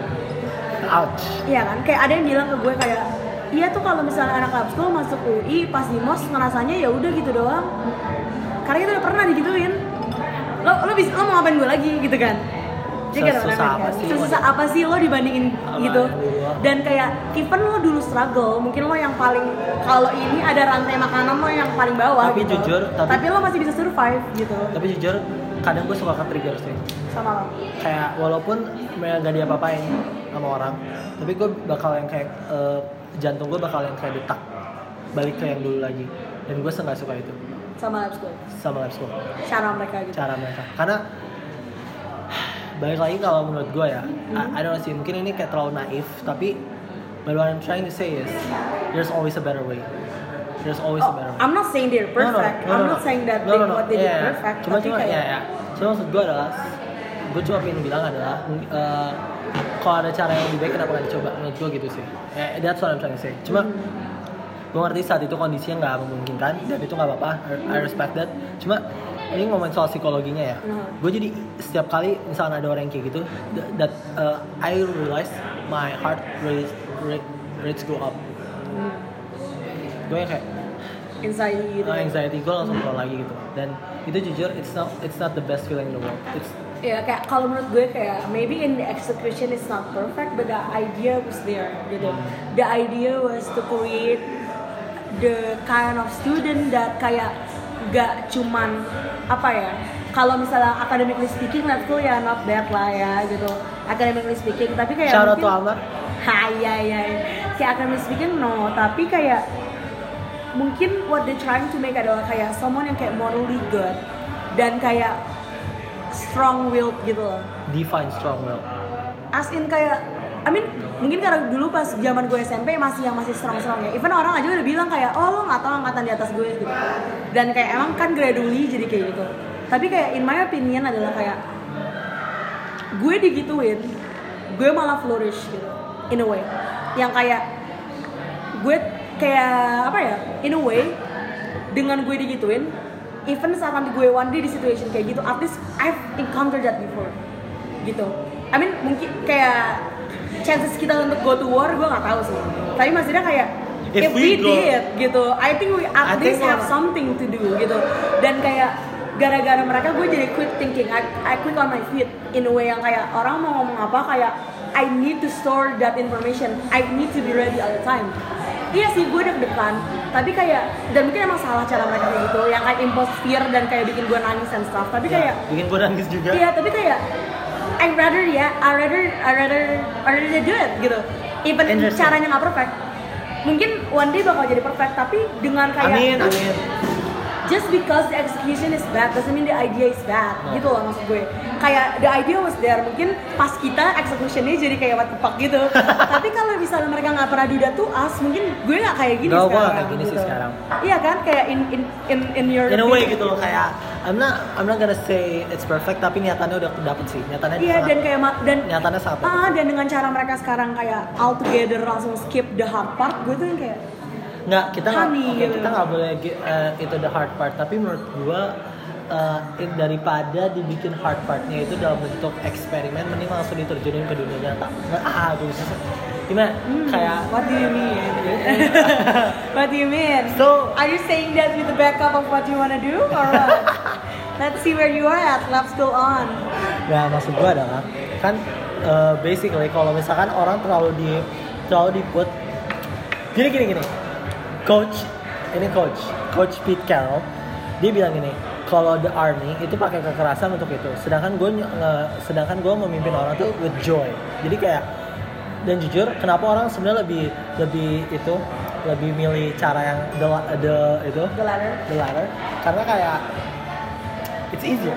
Ouch. Iya kan, kayak ada yang bilang ke gue kayak, iya tuh kalau misalnya anak lab school masuk U I pas di mos ngerasanya ya udah gitu doang, karena kita udah pernah digituin. Lo lo bisa lo mau ngapain gue lagi gitu kan? Jadi kayak Sesusah apa kan? sih? Sesusah apa sih lo dibandingin Apa gitu? dulu? Dan kayak even lo dulu struggle, mungkin lo yang paling kalau ini ada rantai makanan lo yang paling bawah. Tapi gitu. jujur, tapi, tapi lo masih bisa survive gitu. Tapi jujur, kadang gue suka ke-trigger sih. Sama lo. Kayak walaupun gak diapa-apain sama orang, tapi gue bakal yang kayak uh, jantung gue bakal yang kayak detak balik ke yang dulu lagi. Dan gue nggak suka itu. Sama lab school. Sama lab school. Cara mereka gitu. Cara mereka. Karena balik lagi kalau menurut gue ya, mm-hmm. I, I don't know sih, mungkin ini kayak terlalu naif, tapi but what I'm trying to say is there's always a better way. There's always oh, a better way. I'm not saying they're perfect. No, no, no, I'm no, not no. saying that no, they, no, no. what they yeah, did perfect. Cuma tapi cuma kayak, ya ya. Cuma maksud gue adalah, gue cuma pengen bilang adalah uh, kalau ada cara yang lebih baik kenapa nggak dicoba? Menurut gue gitu sih. Eh, that's what I'm trying to say. Cuma mm-hmm. gue ngerti saat itu kondisinya nggak memungkinkan dan itu nggak apa-apa. I respect that. Cuma ini ngomongin soal psikologinya ya. Mm-hmm. Gue jadi setiap kali misalnya ada orang yang kayak gitu, that uh, I realize my heart rate rate rates go up. Mm. Gue kayak anxiety gitu. Uh, anxiety gue langsung keluar lagi gitu. Dan itu jujur it's not it's not the best feeling in the world. It's ya kayak kalau menurut gue kayak maybe in the execution it's not perfect but the idea was there gitu. Hmm. The idea was to create the kind of student that kayak gak cuman apa ya, kalau misalnya academically speaking lab school ya not bad lah ya gitu, academically speaking, tapi kayak shout out mungkin, to Almar. ha ya ya kayak academically speaking no, tapi kayak mungkin what they trying to make adalah kayak someone yang kayak morally good dan kayak strong willed gitu loh. Define strong will. As in kayak, I mean mungkin karena dulu pas zaman gue S M P masih yang masih strong-strong ya. Even orang aja udah bilang kayak, oh lo nggak tahu angkatan di atas gue gitu. Dan kayak emang kan gradually jadi kayak gitu. Tapi kayak in my opinion adalah kayak gue digituin, gue malah flourish gitu, in a way. Yang kayak gue kayak apa ya, in a way dengan gue digituin. Even saat nanti gue one day di situation kayak gitu, at least I've encountered that before, gitu. I mean mungkin kayak chances kita untuk go to war gue nggak tahu sih. Tapi maksudnya kayak if, if we, we did, gitu, I think we at I least have something to do, gitu. Dan kayak gara-gara mereka gue jadi quick thinking, I, I quick on my feet in a way yang kayak orang mau ngomong apa kayak I need to store that information, I need to be ready all the time. Iya sih gue deg-degan, tapi kayak dan mungkin emang salah cara mereka kayak gitu, yang kayak impose fear dan kayak bikin gue nangis and stuff. Tapi kayak ya, bikin gue nangis juga. Iya, tapi kayak I rather ya, I rather I rather I rather do it gitu. Even caranya nggak perfect, mungkin one day bakal jadi perfect, tapi dengan kayak amin amin. Just because the execution is bad doesn't mean the idea is bad, no. Gitu loh maksud gue. Kayak the idea was there, mungkin pas kita executionnya jadi kayak what the fuck gitu. Tapi kalau misalnya mereka nggak pernah do that to us, mungkin gue nggak kayak gini Gak, sekarang. Gue kayak gini gitu. sih sekarang. Iya kan, kayak in in in in your in a way gitu loh, kayak I'm not I'm not gonna say it's perfect, tapi niatannya udah dapet sih, niatannya. Iya, dan kayak dan niatannya sangat. Ah, dan dengan cara mereka sekarang kayak all together langsung skip the hard part, gue tuh yang kayak nggak kita nggak Honey, oke, gitu. kita nggak boleh uh, itu the hard part, tapi menurut gue uh, it- daripada dibikin hard partnya itu dalam bentuk eksperimen, mending langsung diterjunin ke dunia nyata. Nggak, ah gue bisa gimana Hmm, kayak what do you mean? What do you mean? So- are you saying that with the backup of what you wanna do or what? Let's see where you are at. Lab school on. ya maksud gue adalah kan uh, basically kalau misalkan orang terlalu di terlalu di put gini gini gini coach ini coach coach Pete Carroll dia bilang gini, kalau the army itu pakai kekerasan untuk itu, sedangkan gue sedangkan gue memimpin orang tuh with joy. Jadi kayak, dan jujur kenapa orang sebenarnya lebih lebih itu lebih milih cara yang the, the itu The latter. the latter karena kayak it's easier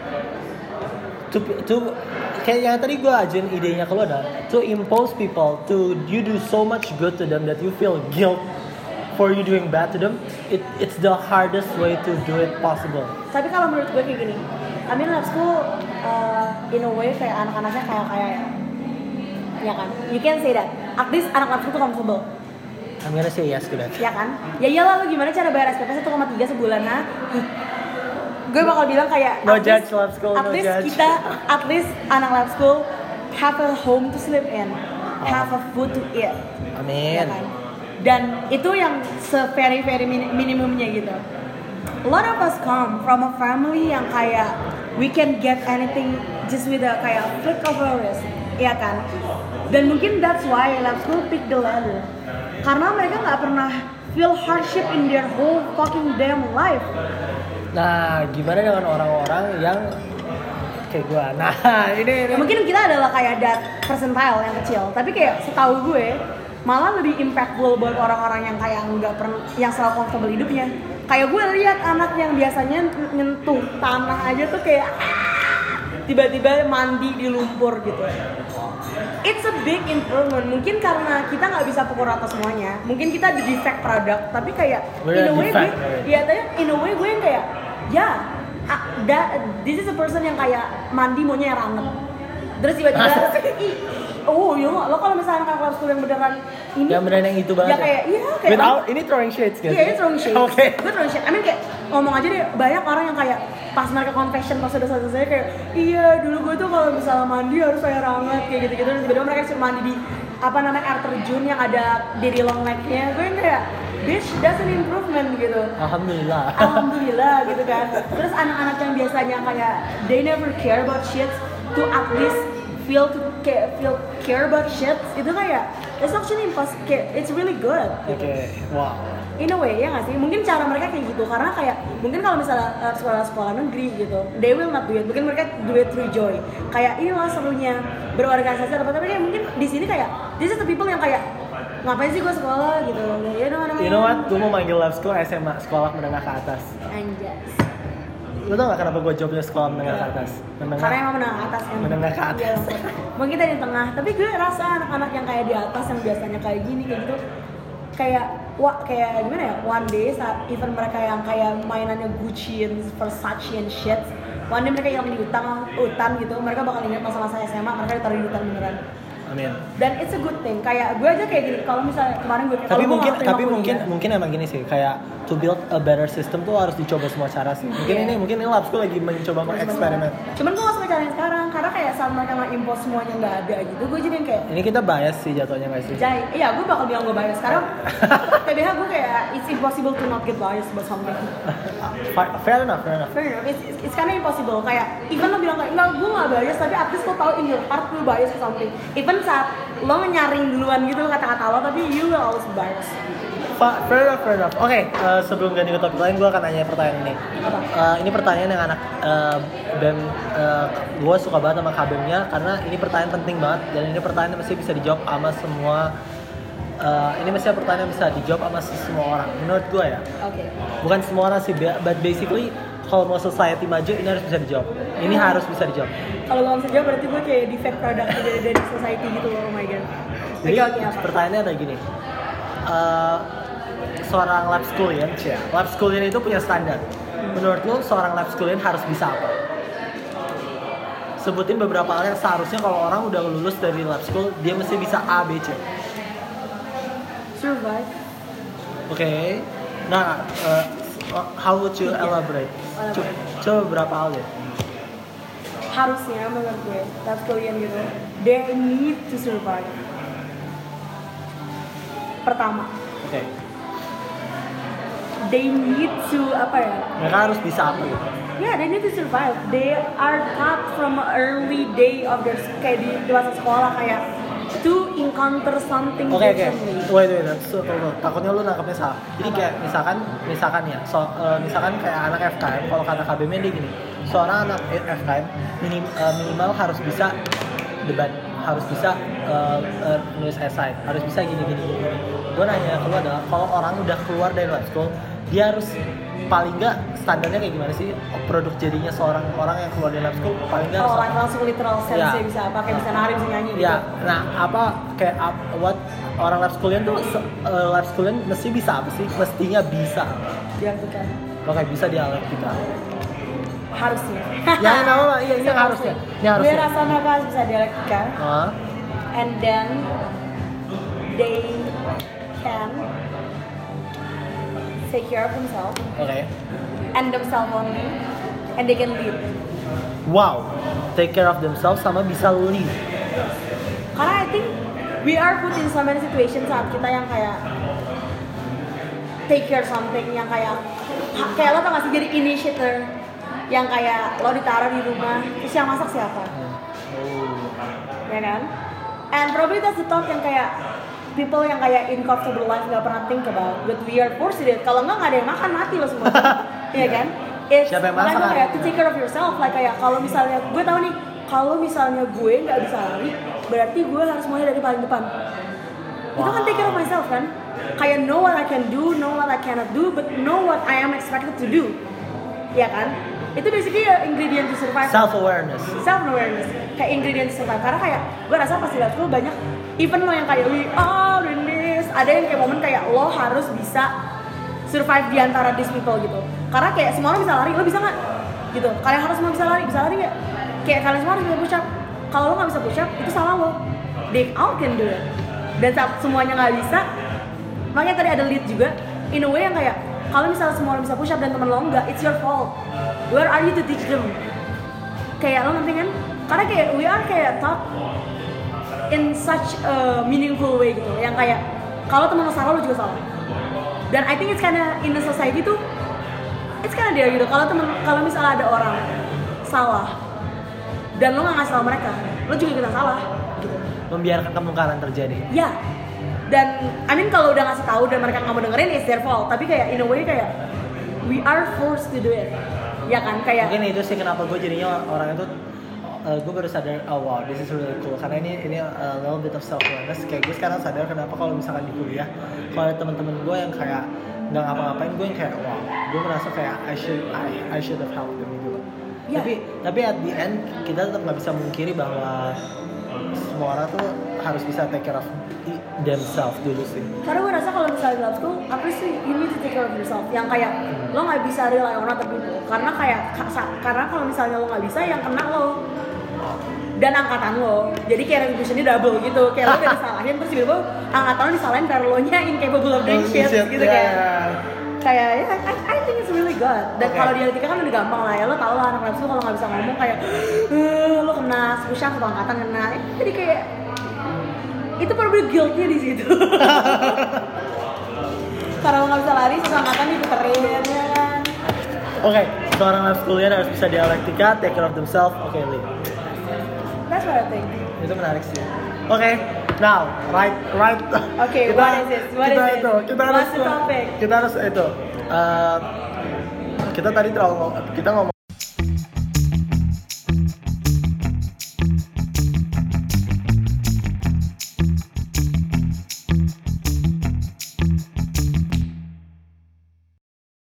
to to kayak yang tadi gue ajain idenya ke lo adalah to impose people to you do so much good to them that you feel guilt for you doing bad to them. It it's the hardest way to do it possible. Tapi kalau menurut gue kayak gini, I mean lab school uh, in a way kayak anak-anaknya kayak kayak ya, ya kan? You can say that. At least anak lab school tuh comfortable. I'm gonna say yes to that. Ya kan? Ya iyalah, lu gimana cara bayar S P P satu koma tiga sebulan, ha? Gue bakal bilang kayak No at judge, least- lab school, at no least judge. kita, at least anak lab school have a home to sleep in, have a food to eat, ya Amin. kan? Dan itu yang se very very min- minimumnya gitu. A lot of us come from a family yang kayak we can get anything just with a kayak flick of a wrist, ya kan? Dan mungkin that's why lab school pick the ladder, karena mereka nggak pernah feel hardship in their whole fucking damn life. Nah, gimana dengan orang-orang yang kayak gue? Nah, ini, ini. Ya, mungkin kita adalah kayak that percentile yang kecil, tapi kayak setahu gue malah lebih impactful buat orang-orang yang kayak nggak pernah, yang selalu comfortable hidupnya. Kayak gue lihat anak yang biasanya nyentuh tanah aja tuh kayak ah, tiba-tiba mandi di lumpur gitu. It's a big improvement. Mungkin karena kita nggak bisa pukul rata semuanya. Mungkin kita di defect product, tapi kayak We're in a a way gue, defect, right? ya tanya in a way gue yang kayak ya, ah, that, this is a person yang kayak mandi maunya yang anget. Terus tiba-tiba, ih, oh iya lo kalau misalnya anak kelas school yang beneran ini, Yang beneran yang itu banget ya kayak iya kayak Without, ini throwing shades guys. iya ini throwing shades. Oke. Gue throwing shades. I mean kayak ngomong aja deh, banyak orang yang kayak pas mereka confession pas udah selesai kayak iya dulu gue tuh kalau misalnya mandi harus air hangat kayak gitu-gitu, dan tiba-tiba mereka cuma mandi di apa namanya air terjun yang ada dari long necknya. Gue yang kayak bitch, that's an improvement gitu. Alhamdulillah. Alhamdulillah gitu kan. Terus anak-anak yang biasanya kayak they never care about shit to at least feel to care, feel care about shit, itu kayak it's actually impossible. It's really good. Oke, Gitu. wow. In a way ya nggak sih? Mungkin cara mereka kayak gitu karena kayak mungkin kalau misalnya uh, sekolah-sekolah negeri gitu, they will not do it. Mungkin mereka do it through joy. Kayak inilah serunya berorganisasi apa tapi kayak mungkin di sini kayak this is the people yang kayak ngapain sih gue sekolah gitu. Ya udah mana. You know what? Gue mau manggil lab school S M A, sekolah menengah ke atas. Anjas. Lo tau gak kenapa gue jawabnya sekolah menengah ke atas? Menengah. Karena emang menengah atas kan. Menengah ke atas. Iya, mungkin kita di tengah. Tapi gue rasa anak-anak yang kayak di atas yang biasanya kayak gini kayak gitu kayak wah kayak gimana ya? One day saat even mereka yang kayak mainannya Gucci and Versace and shit, one day mereka hilang di hutan, hutan gitu. Mereka bakal ingat masa-masa S M A mereka ditaruh di hutan beneran. Amin. Dan it's a good thing. Kayak gue aja kayak gini. Kalau misalnya kemarin gue Tapi kalau gue mungkin nggak terima tapi mungkin kuliah, mungkin emang gini sih, kayak to build a better system tuh harus dicoba semua cara sih. Mungkin Iya. ini mungkin ini lab school lagi mencoba mengeksperimen. Cuman gue gak suka caranya sekarang karena kayak saat mereka nge-impose semuanya nggak ada gitu. Gue jadi yang kayak Ini kita bias sih jatuhnya guys sih. Jai, iya gue bakal bilang gue bias. Sekarang P B H gue kayak it's impossible to not get bias about something. Fair enough, fair enough. Fair enough, it's, it's, it's kinda impossible. Kayak even lo bilang kayak enggak gue gak bias, tapi at least lo tau in your heart lo bias ke something. Even saat lo nyaring duluan gitu kata-kata lo, tapi you will always bias. Fa- Fair enough, fair enough. Oke, eh, sebelum ganti ke topik lain, gue akan nanya pertanyaan ini. Apa? Eh, ini pertanyaan yang anak uh, bem, gue suka banget sama kabemnya karena ini pertanyaan penting banget dan ini pertanyaan yang mesti bisa dijawab sama semua. eh, ini mesti pertanyaan yang bisa dijawab sama semua orang. Menurut gue ya, Oke. bukan semua orang sih, but basically kalau mau society maju ini harus bisa dijawab. Ini harus bisa dijawab. Kalau gue gak bisa jawab berarti gue kayak defect product dari, dari society gitu loh, oh my god. Jadi Oke oke apa? pertanyaannya adalah gini. Eh, seorang lab schoolian, ya, lab schoolian itu punya standar. Menurut lo seorang lab schoolian harus bisa apa? Sebutin beberapa hal yang seharusnya kalau orang udah lulus dari lab school dia mesti bisa A, B, C. Survive. Oke. Nah, uh, how would you elaborate? Co- Coba berapa hal ya? Harusnya menurut gue, lab kalian gitu, they need to survive. Pertama, Oke. they need to apa ya? Mereka harus bisa apa gitu? Yeah, they need to survive. They are taught from early day of their kayak di, di masa sekolah kayak to encounter something Oke oke. differently. Wait wait. So, tunggu. Takutnya lu nangkepnya salah. Jadi kayak misalkan misalkan ya, so, uh, misalkan kayak anak F K M, kalau kata K B M dia gini, seorang anak F K M minim, uh, minimal harus bisa debat, harus bisa uh, uh, nulis esai, harus bisa gini gini gini. Gue nanya ke lu adalah kalau orang udah keluar dari lab school, dia harus paling nggak standarnya kayak gimana sih produk jadinya seorang orang yang keluar dari lab school paling nggak Oh, like langsung literal sense Ya. ya. Bisa apa kayak bisa nari bisa nyanyi gitu. ya nah apa kayak up, what orang lab schoolian tuh uh, lab schoolian mesti bisa apa sih mestinya bisa Diartikan. oke bisa dialektika Harusnya. ya nama lah iya ini harusnya ini Gue harusnya rasa mereka harus bisa dialektika. Hah? And then they can take care of themselves oke and themselves only, and they can lead. wow take care of themselves sama bisa lead Karena I think we are put in so many situations saat kita yang kayak take care something yang kayak kayak lo tau gak sih jadi initiator yang kayak lo ditaruh di rumah terus yang masak siapa, oh. ya kan? And probably that's the thought yang kayak people yang kayak in comfortable life gak pernah think about, but we are forced to do it. Kalau nggak nggak ada yang makan mati lo semua, iya kan? It's Siapa yang masak? makanya kayak to take care of yourself, like kayak kalau misalnya gue tahu nih, kalau misalnya gue nggak bisa lari, berarti gue harus mulai dari paling depan. Wow. Itu kan take care of myself kan? Kayak know what I can do, know what I cannot do, but know what I am expected to do, ya kan? Itu basically uh, ingredient to survive. self awareness Self awareness kayak ingredient to survive. Karena kayak gue rasa pas di lab school banyak even lo yang kayak we are in this, ada yang kayak momen kayak lo harus bisa survive di antara these people gitu. Karena kayak semua lo bisa lari, lo bisa nggak? Gitu. Kalian harus semua bisa lari, bisa lari nggak? Kayak kalian semua harus bisa push up. Kalau lo nggak bisa push up, itu salah lo. They all can do it. Dan saat semuanya nggak bisa, makanya tadi ada lead juga. In a way yang kayak kalau misalnya semua orang bisa push up dan temen lo enggak, it's your fault. Where are you to teach them? Kayak lo ngerti kan? Karena kayak we are kayak taught in such a meaningful way gitu. Yang kayak kalau temen lo salah lo juga salah. Dan I think it's kinda in the society tuh, it's kinda there gitu. Kalau temen kalau misalnya ada orang salah dan lo nggak ngasih tahu mereka, lo juga ikutan salah. Gitu. membiarkan kemungkaran terjadi Ya. Dan I mean kalau udah ngasih tahu dan mereka nggak mau dengerin, it's their fault. Tapi kayak in a way kayak we are forced to do it, ya kan? Kayak mungkin itu sih kenapa gue jadinya orang itu uh, gue baru sadar oh wow this is really cool karena ini ini a little bit of self awareness kayak gue sekarang sadar kenapa kalau misalkan di kuliah kalau ada teman-teman gue yang kayak nggak ngapa-ngapain gue yang kayak wow gue merasa kayak I should I, I should have helped them gitu. Yeah. Tapi tapi at the end kita tetap nggak bisa mungkiri bahwa semua orang tuh harus bisa take care of themselves dulu sih. karena gue rasa kalau misalnya di lab school, apa sih you need to take care of yourself. Yang kayak hmm. lo nggak bisa rely on other people. Karena kayak karena kalau misalnya lo nggak bisa, yang kena lo dan angkatan lo. Jadi kayak retributionnya double gitu. Kayak lo udah disalahin terus tiba-tiba angkatan lo disalahin karena lo nya incapable of doing shit gitu yeah. kayak. Kayak ya, I, I think it's really good. Dan okay. kalau dialektika kan udah gampang lah ya. Lo tau lah anak lab school kalau nggak bisa ngomong kayak uh, lo kena push-up atau angkatan kena. Jadi kayak itu probably guilt-nya di situ. Karena lo nggak bisa lari, susah angkatan diputerin ya kan. Oke, okay, seorang lab schoolian harus bisa dialektika, take care of themselves. Oke, okay, Lee. That's what I think. Itu menarik sih. Oke, okay, now right right. Oke, okay, what is it? What kita is itu, it? kita harus What's the topic? kita harus itu. Uh, kita tadi terlalu kita ngomong